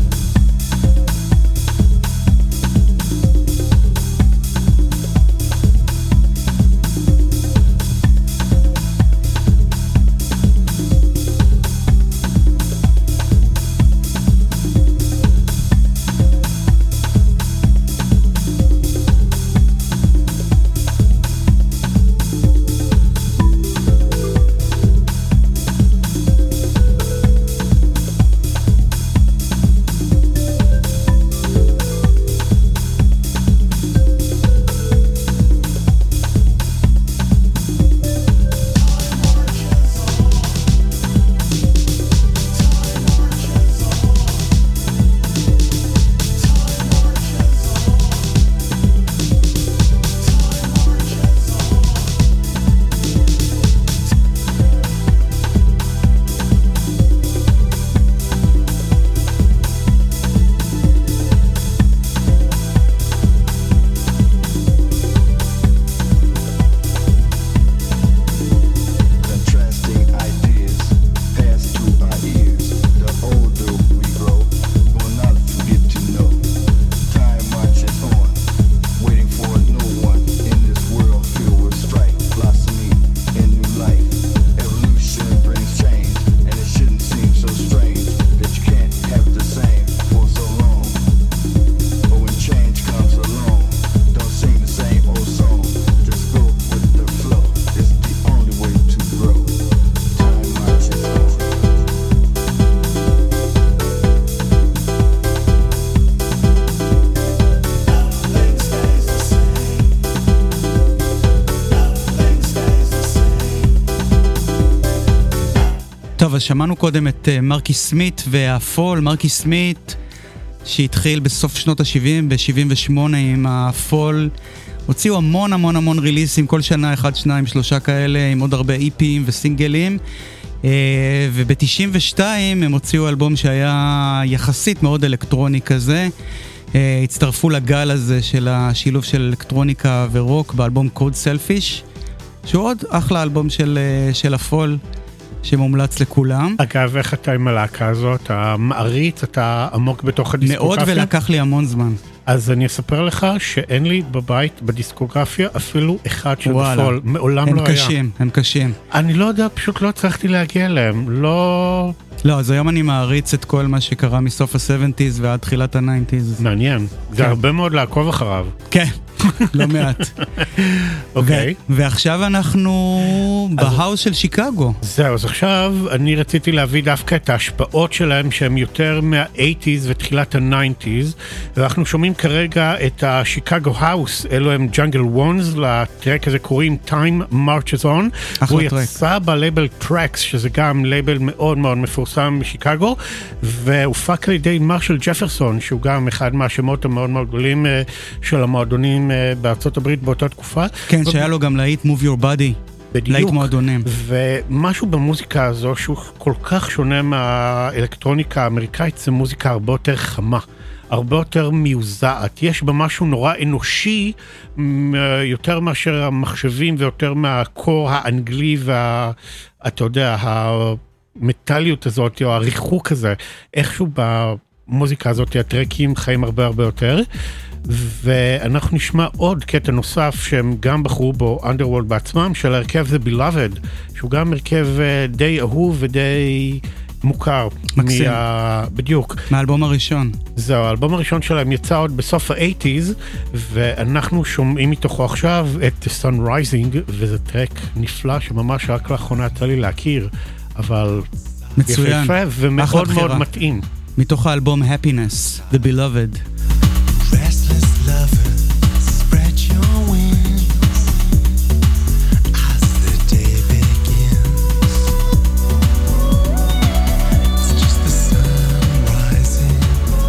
טוב, אז שמענו קודם את מרקי סמית והפול. מרקי סמית שהתחיל בסוף שנות ה-70, ב-78 עם הפול, הוציאו המון המון המון ריליסים, כל שנה 1, 2, 3 כאלה, עם עוד הרבה איפים וסינגלים, וב-92 הם הוציאו אלבום שהיה יחסית מאוד אלקטרוני כזה, הצטרפו לגל הזה של השילוב של אלקטרוניקה ורוק באלבום קוד סלפיש, שהוא עוד אחלה אלבום של הפול, שמומלץ לכולם. אגב, איך אתה עם הלהקה הזאת? אתה מעריץ, אתה עמוק בתוך הדיסקוגרפיה? מאוד, ולקח לי המון זמן. אז אני אספר לך שאין לי בבית, בדיסקוגרפיה, אפילו אחד של הפול. מעולם לא היה. הם קשים, הם קשים. אני לא יודע, פשוט לא הצלחתי להגיע אליהם. לא, אז היום אני מעריץ את כל מה שקרה מסוף ה-70s ועד תחילת ה-90s. מעניין. זה הרבה מאוד לעקוב אחריו. כן. לא מעט. אוקיי. ועכשיו אנחנו בהאוס של שיקגו. זהו, אז עכשיו אני רציתי להביא דווקא את ההשפעות שלהם שהם יותר מה-80s ותחילת ה-90s, ואנחנו שומעים כרגע את השיקגו האוס, אלו הם ג'אנגל וונס, לטרק הזה קוראים Time Marches On, הוא יצא בלייבל טרקס, שזה גם לייבל מאוד מאוד מפורסם משיקגו, והופק על ידי מרשל ג'פרסון, שהוא גם אחד מהשמות המאוד מאוד גדולים של המועדונים בארצות הברית באותה תקופה. כן, שהיה לו גם להיט Move Your Body. בדיוק. להיט מועדונים. ומשהו במוזיקה הזו שהוא כל כך שונה מהאלקטרוניקה האמריקאית, זה מוזיקה הרבה יותר חמה, הרבה יותר מיוזעת. יש בה משהו נורא אנושי, יותר מאשר המחשבים ויותר מהקור האנגלי אתה יודע, המטליות הזאת או הריחוק הזה. איכשהו במוזיקה הזאת הטרקים חיים הרבה הרבה יותר. ואנחנו נשמע עוד קטע נוסף שהם גם בחרו בו Underworld בעצמם, של הרכב The Beloved, שהוא גם הרכב די אהוב ודי מוכר. מקסים. בדיוק. מהאלבום הראשון. זהו, האלבום הראשון שלהם יצא עוד בסוף ה-80s, ואנחנו שומעים מתוכו עכשיו את Sun Rising, וזה טרק נפלא שממש רק לאחרונה יצא לי להכיר, אבל מצוין. יפה ומאוד מאוד מתאים. מתוך האלבום Happiness, The Beloved. Restless lover, spread your wings as the day begins. It's just the sun rising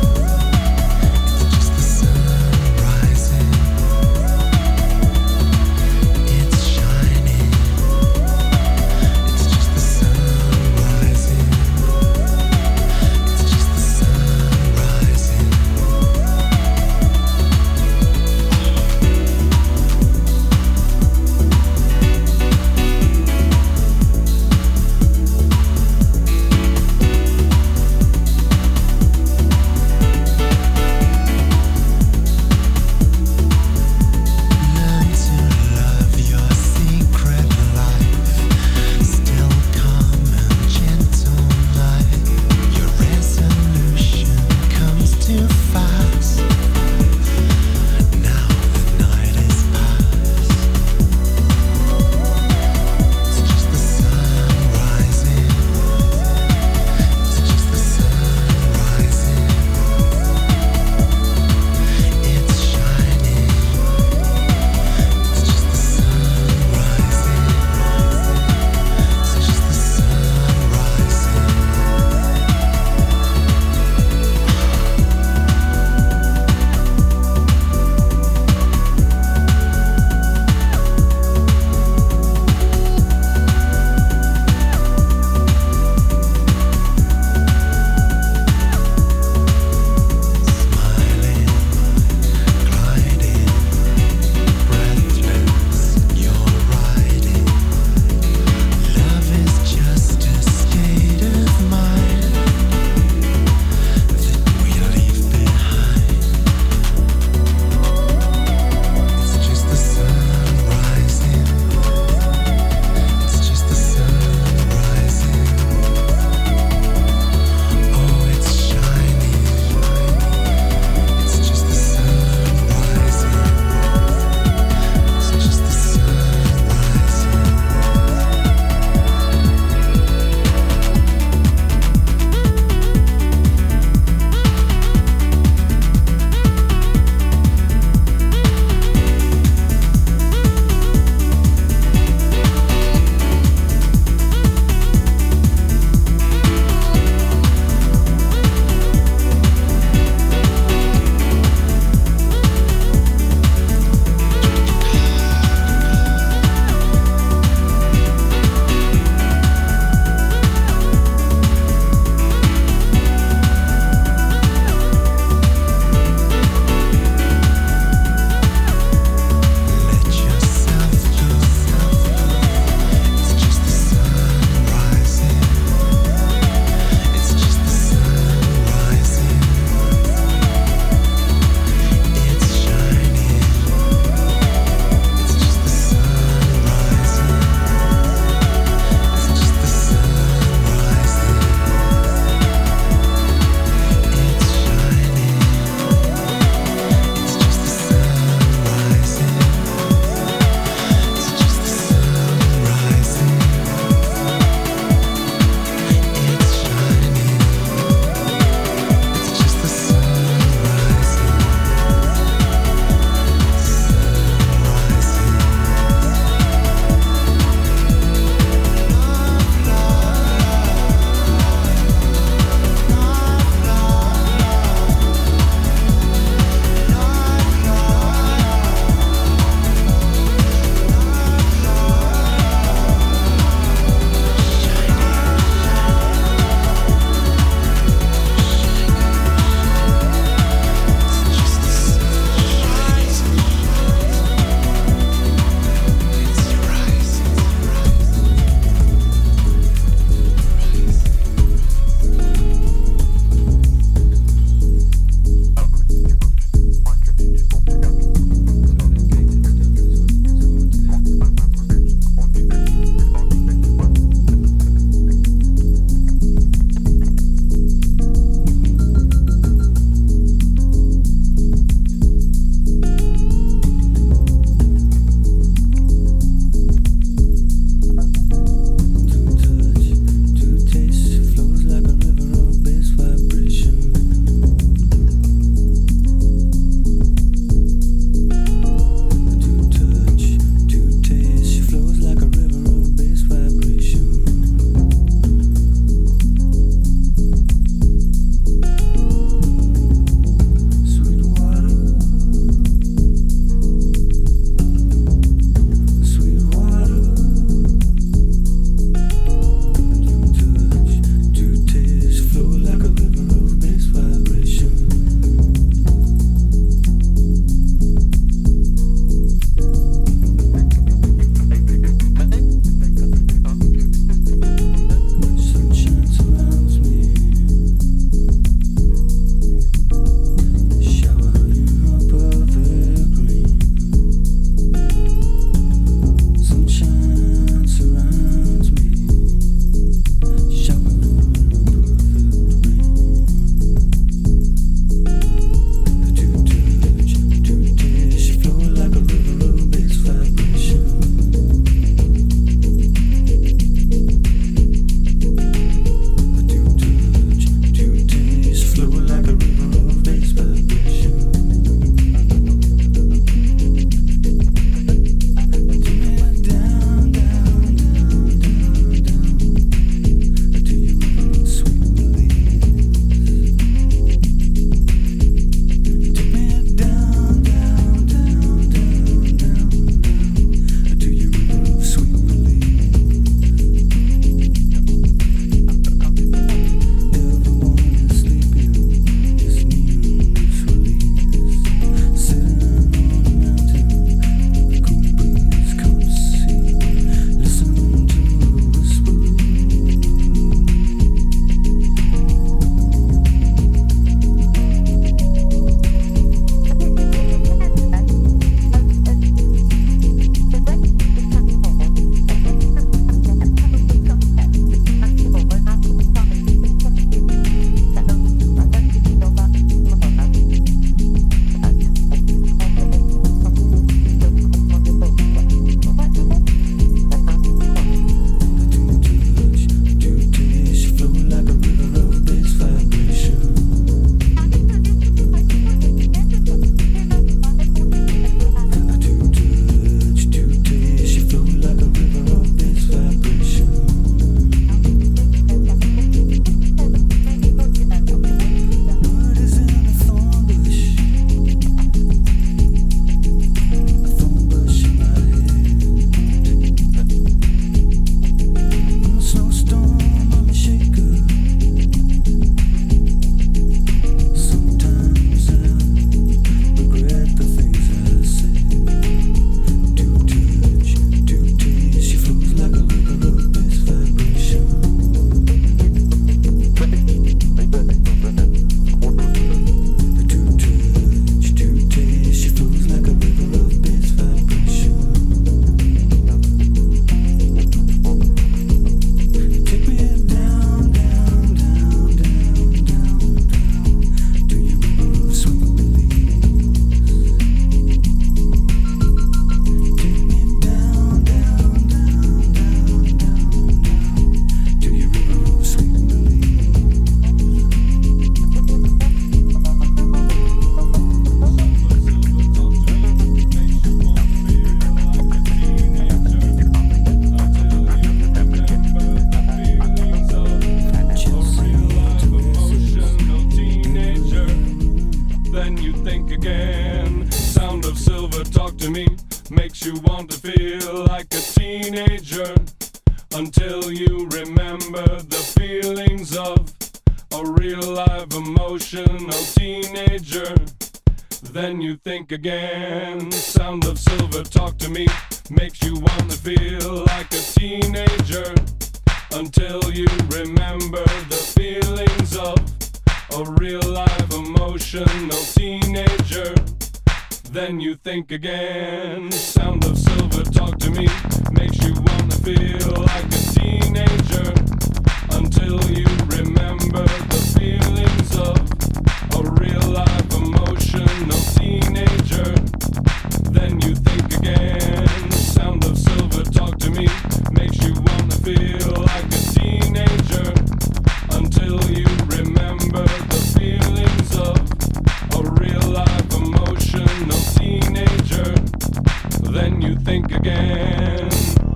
again. Sound of silver talk to me makes you want to feel like a teenager until you remember the feelings of a real live emotional teenager. Then you think again. Sound of silver talk to me makes you want to feel like a teenager until you remember the feelings of a real live emotional teenager. Then you think again. Sound of silver talk to me makes you want to feel like a teenager until you remember the feelings of a real live emotional teenager. Then you think again. Sound of silver talk to me makes you want to feel like a teenager until you remember the feelings of a real live emotional teenager. Then you think again.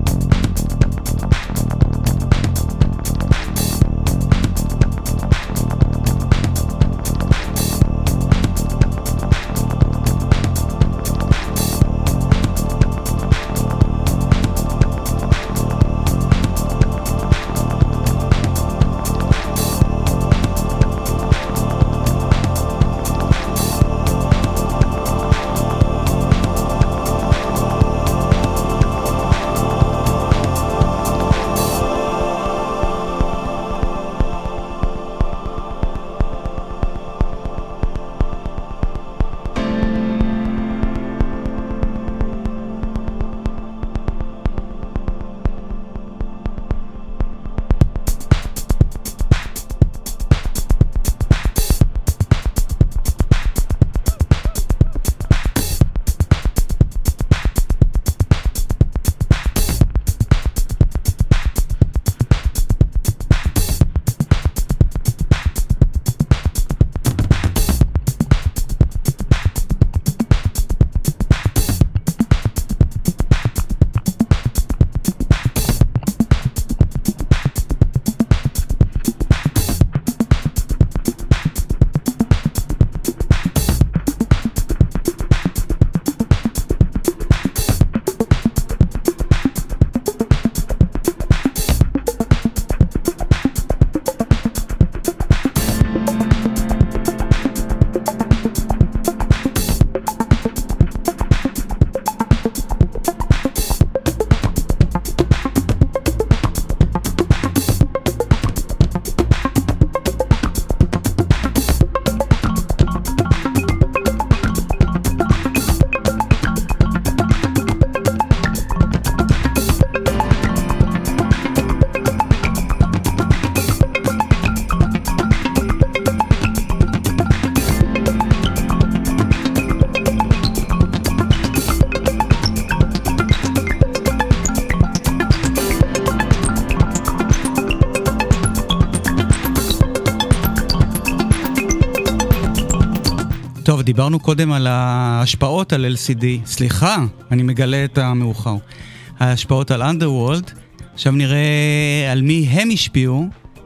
טוב, דיברנו קודם על ההשפעות על LCD. סליחה, אני מגלה את המאוחר. ההשפעות על Underworld. עכשיו נראה על מי הם השפיעו,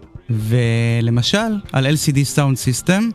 ולמשל על LCD Sound System,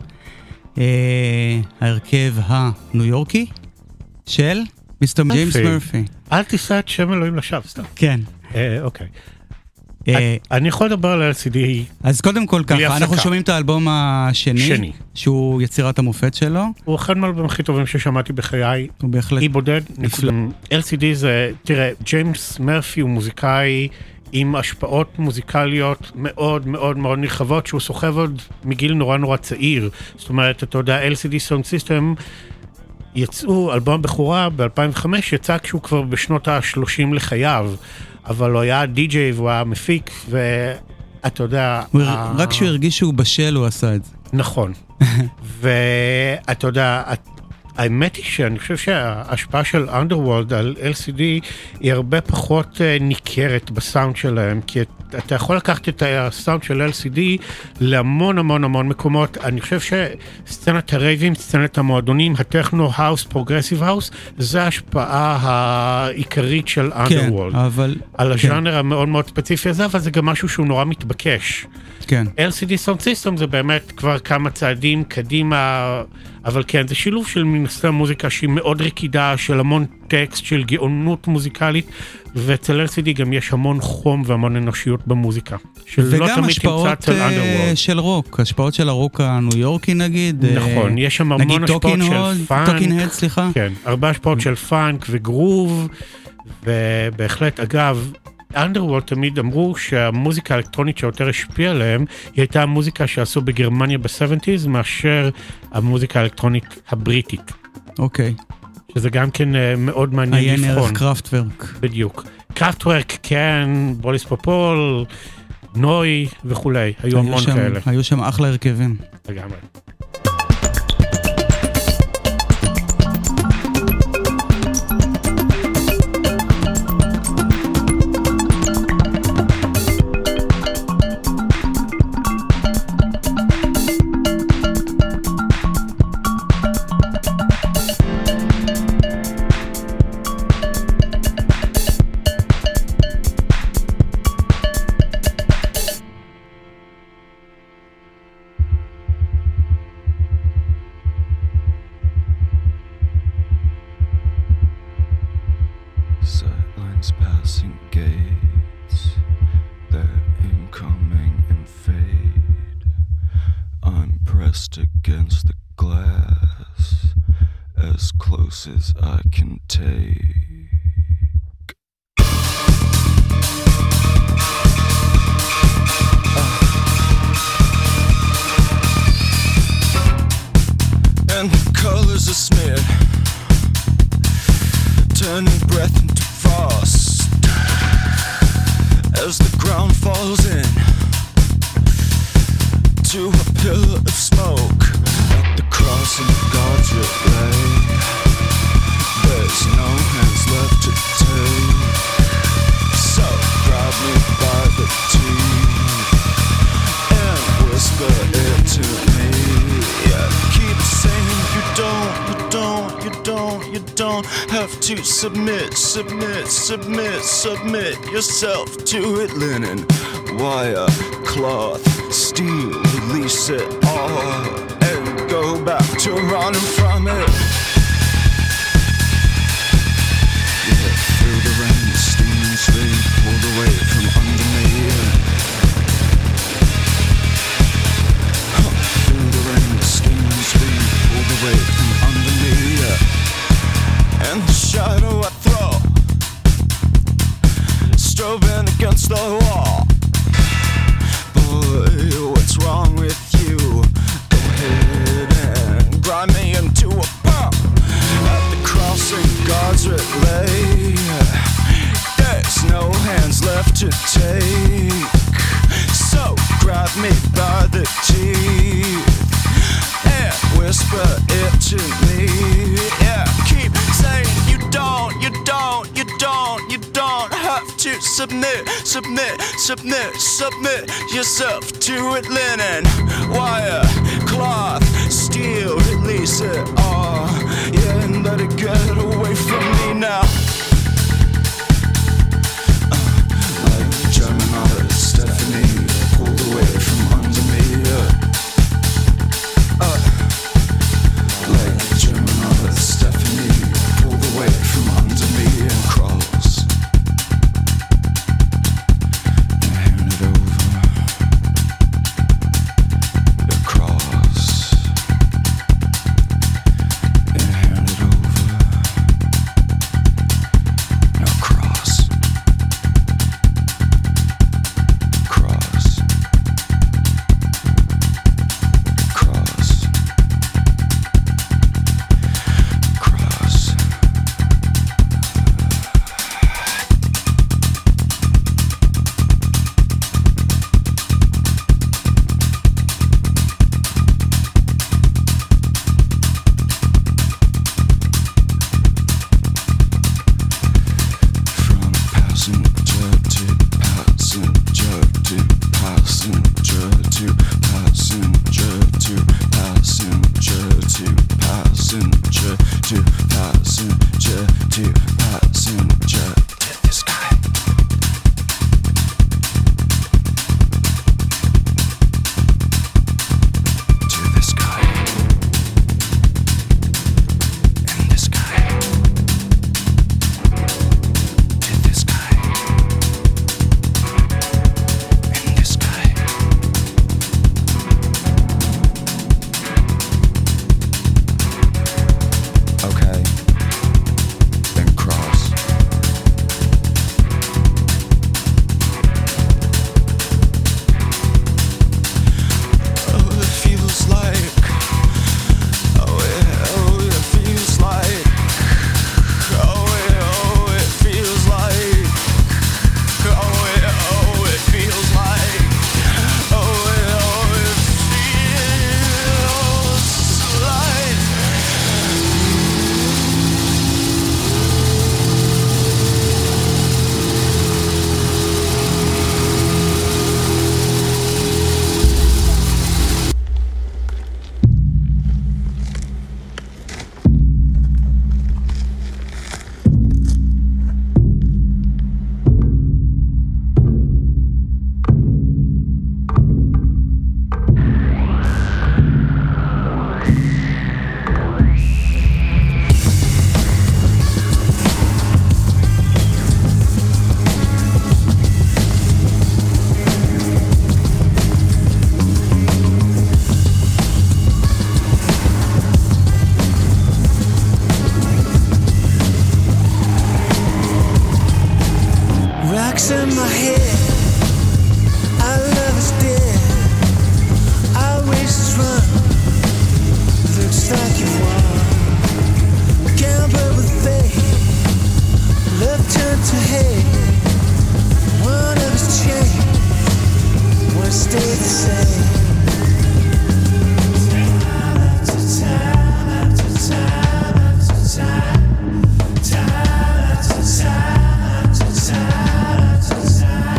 ההרכב הניו יורקי של מיסטר ג'יימס מרפי. אל תישא את שם אלוהים לשווא, סתם. כן. אוקיי. אני יכול לדבר על LCD. אז קודם כל ככה, אנחנו שומעים את האלבום השני, שהוא יצירת המופת שלו. הוא אחד מהאלבומים הכי טובים ששמעתי בחיי. הוא בהחלט אי בודד. LCD זה, תראה, ג'יימס מרפי הוא מוזיקאי עם השפעות מוזיקליות מאוד מאוד מאוד נרחבות, שהוא סוחב עוד מגיל נורא נורא צעיר. זאת אומרת, אתה יודע, LCD Sound System יצאו, אלבום בחורה ב-2005, יצא כשהוא כבר בשנות ה-30 לחייו. אבל הוא היה די-ג'יי והוא היה מפיק, ואתה יודע... רק כשהוא הרגיש שהוא בשל, הוא עשה את זה. נכון. ואתה יודע, האמת היא שאני חושב שההשפעה של Underworld על LCD היא הרבה פחות ניכרת בסאונד שלהם, כי אתה יכול לקחת את הסאונד של LCD להמון המון המון מקומות. אני חושב שסצנת הרייבים, סצנת המועדונים, הטכנו האוס, פרוגרסיב האוס, זה ההשפעה העיקרית של אנדרוולד. על הז'אנר המאוד מאוד ספציפי הזה, אבל זה גם משהו שהוא נורא מתבקש. כן. LCD Sound System זה באמת כבר כמה צעדים קדימה, אבל כן, זה שילוב של מנסה מוזיקה שהיא מאוד רקידה, של המון טקסט, של גאונות מוזיקלית, ואצל LCD גם יש המון חום והמון אנושיות במוזיקה. וגם השפעות של רוק, השפעות של הרוק הניו יורקי נגיד. נכון, יש שם המון השפעות של פאנק. טוקין הד, סליחה. כן, הרבה השפעות של פאנק וגרוב, ובהחלט, אגב, אנדרוולד תמיד אמרו שהמוזיקה האלקטרונית שיותר השפיעה עליהם, היא הייתה המוזיקה שעשו בגרמניה ב-70s, מאשר המוזיקה האלקטרונית הבריטית. אוקיי. שזה גם כן מאוד מעניין לבחון. עיין ערך קראפטוורק. בדיוק. קראפטוורק, כן, בוליס פופול, נוי וכולי. היו המון כאלה. היו שם אחלה הרכבים. לגמרי. Against the glass as close as I can take. And the colors are smeared, turning breath into frost as the ground falls in to a pillar of smoke. At the crossing God's relay, there's no hands left to take. So grab me by the teeth and whisper it to me. Yeah, keep saying you don't have to submit yourself to it. Linen, wire, cloth, steel, release it all and go back to running from it. Yeah, through the rain, steam and sleep pulled away from under me. Through the rain, steam and sleep pulled away from under me. And the shadow I throw, strobing against the wall. Boy, what's wrong with you? Go ahead and grind me into a pump. At the crossing God's relay, there's no hands left to take. So grab me by the teeth and whisper it to me. Yeah, keep saying you don't have to submit yourself to it. Linen, wire, cloth, steel, release it all. Yeah, and let it get away from me now. Like the German artist Stephanie pulled away from under me. Like the German artist Stephanie pulled away from under me and cross. And hand it over across. to passenger to the sky. To the sky. In the sky. To the sky. In the sky. Okay. Then cross. Oh, it feels like. Oh, it feels like. Oh, it feels like. Oh, it feels like. Oh, it feels like. Rocks in my head, our love is dead, our race is run, looks like you won. Gamble with fate, love turned to hate, one of us changed, one stayed the same. Time after time after time after time, time after time after time.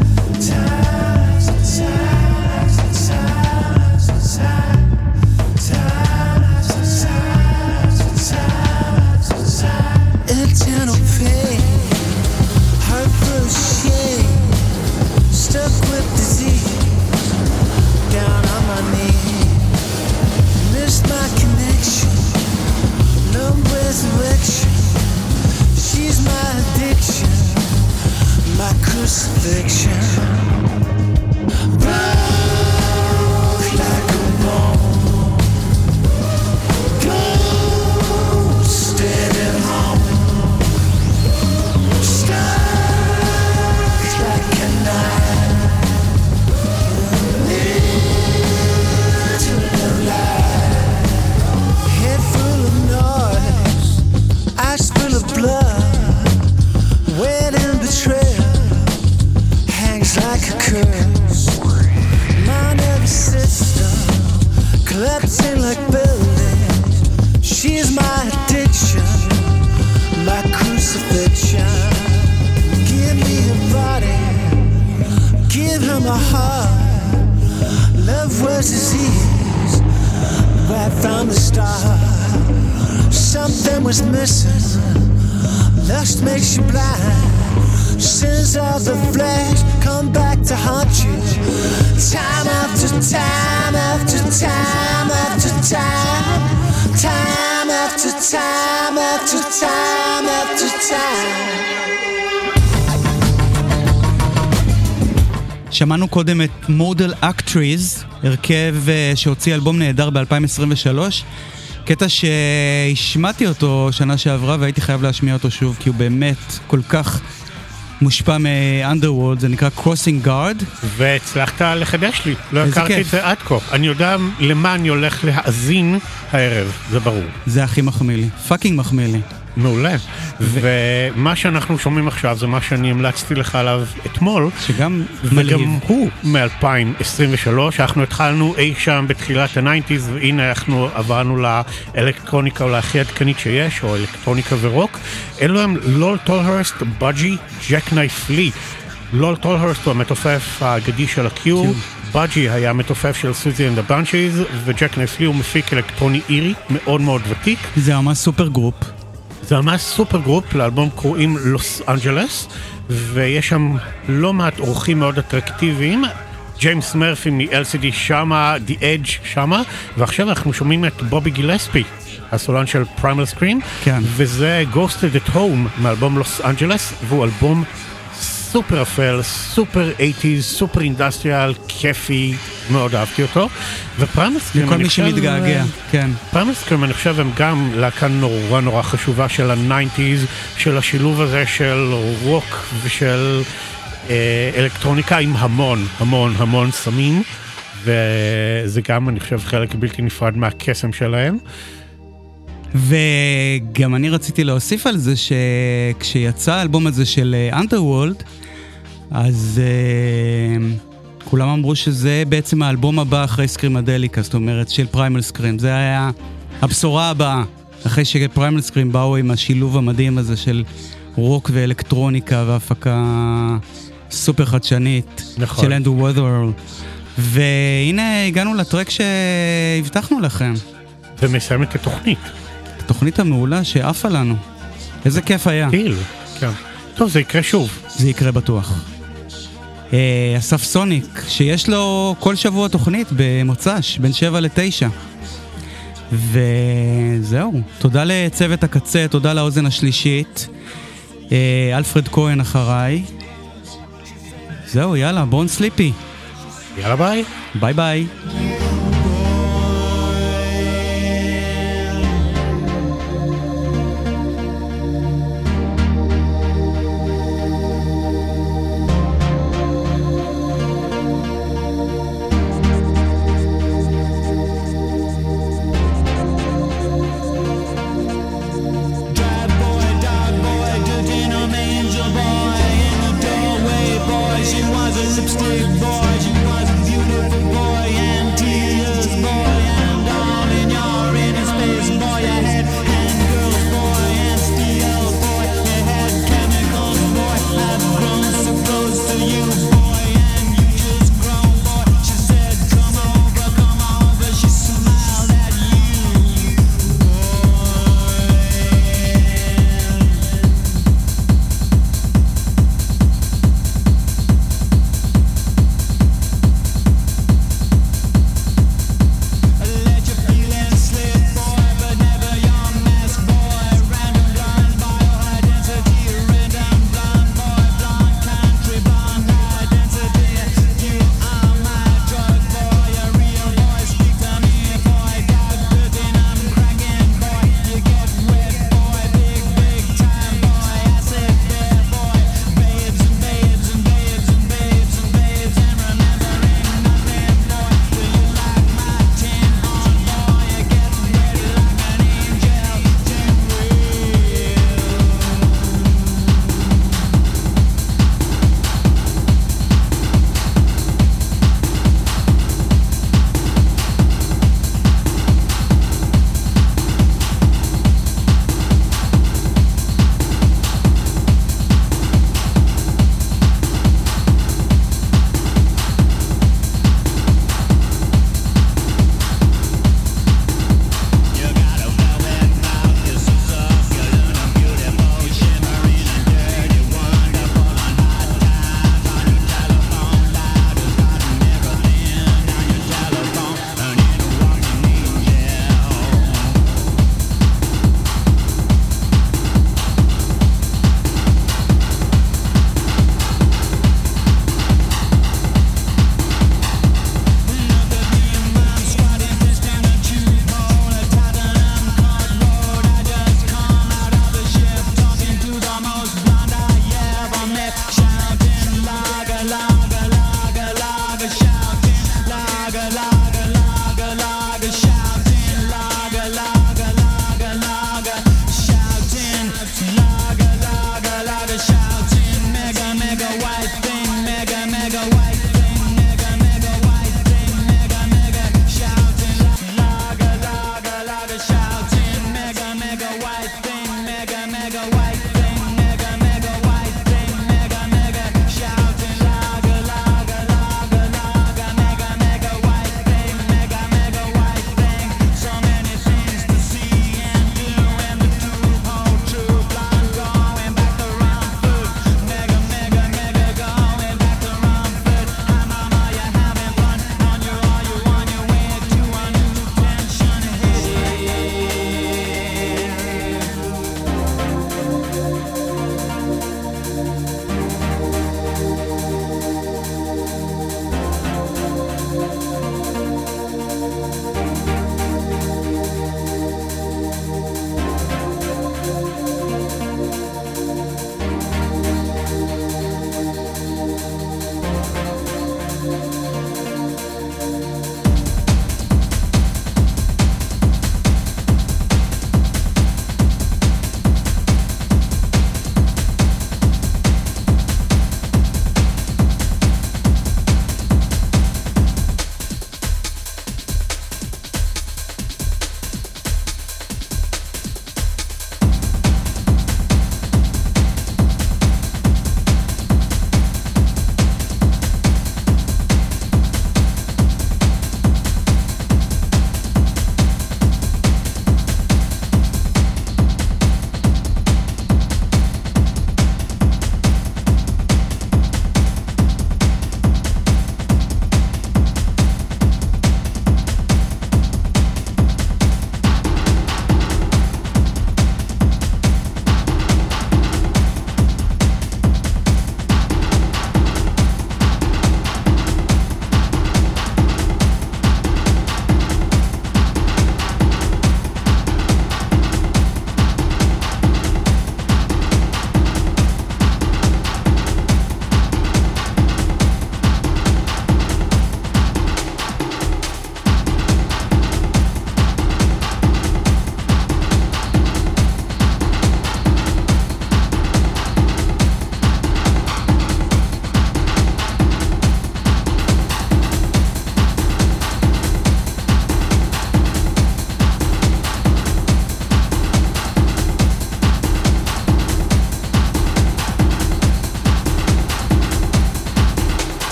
Eternal pain, heart full of shame, stuck with disease, down on my knees, missed my connection, no resurrection, she's my addiction, my crucifixion. Broke like a bone, ghosted at home, stuck like a knife, into the light. Head full of noise, eyes full of blood, wet and betrayal, hangs like a curse. My nervous system collapsing like buildings. She's my addiction, my crucifixion. Give me your body, give her my heart. Love was disease, right from the start. Something was missing, lust makes you blind. Sins of the flesh come back to haunt you. Time after time after time after time, time after time after time after time. שמענו קודם את מודל אקטריז, הרכב שהוציא אלבום נהדר ב-2023, קטע שהשמעתי אותו שנה שעברה והייתי חייב להשמיע אותו שוב, כי הוא באמת כל כך מושפע מ-Underworld, זה נקרא Crossing Guard. והצלחת לחדש לי, לא הכרתי את זה עד כה. אני יודע למה אני הולך להאזין הערב, זה ברור. זה הכי מחמיא לי, פאקינג מחמיא לי. מעולה. ומה שאנחנו שומעים עכשיו זה מה שאני המלצתי לך עליו אתמול. שגם מלהיב. וגם הוא מ-2023. אנחנו התחלנו אי שם בתחילת ה-90s, והנה אנחנו עברנו לאלקטרוניקה או להכי עדכנית שיש, או אלקטרוניקה ורוק. אלו הם לול טולהרסט, בג'י, ג'ק נייף לי. לול טולהרסט הוא המתופף האגדי של הקיו, בג'י היה המתופף של סוזי אנד הבנצ'יז, וג'ק נסלי הוא מפיק אלקטרוני אירי מאוד מאוד ותיק. זה ממש סופר גרופ. זה ממש סופר גרופ, לאלבום קוראים לוס אנג'לס, ויש שם לא מעט אורחים מאוד אטרקטיביים, ג'יימס מרפי מ-LCD שמה, The Edge שמה, ועכשיו אנחנו שומעים את בובי גילספי, הסולן של פריימל סקרים, כן. וזה Ghosted at Home מאלבום לוס אנג'לס, והוא אלבום סופר אפל, סופר 80s, סופר אינדסטריאל, כיפי, מאוד אהבתי אותו, ופריימל סקרים, לכל מי שמתגעגע, כן. פריימל סקרים, אני חושב, הם גם להקה נורא נורא חשובה של ה-90s, של השילוב הזה של רוק ושל אלקטרוניקה עם המון סמים, וזה גם, אני חושב, חלק בלתי נפרד מהקסם שלהם. וגם אני רציתי להוסיף על זה שכשיצא האלבום הזה של Underworld, אז כולם אמרו שזה בעצם האלבום הבא אחרי סקרימדליקה, זאת אומרת של פריימל סקרים, זה היה הבשורה הבאה, אחרי שפריימל סקרים באו עם השילוב המדהים הזה של רוק ואלקטרוניקה והפקה סופר חדשנית, נכון. של אנדרו ווית'רל. והנה הגענו לטרק שהבטחנו לכם. ומסיים את התוכנית. התוכנית המעולה שעפה לנו. איזה כיף היה. כן. טוב, זה יקרה שוב. זה יקרה בטוח. אסף סוניק, שיש לו כל שבוע תוכנית במוצ"ש, בין 7 ל-9. וזהו. תודה לצוות הקצה, תודה לאוזן השלישית. אלפרד כהן אחריי. זהו, יאללה, בון סליפי. יאללה, ביי. ביי ביי.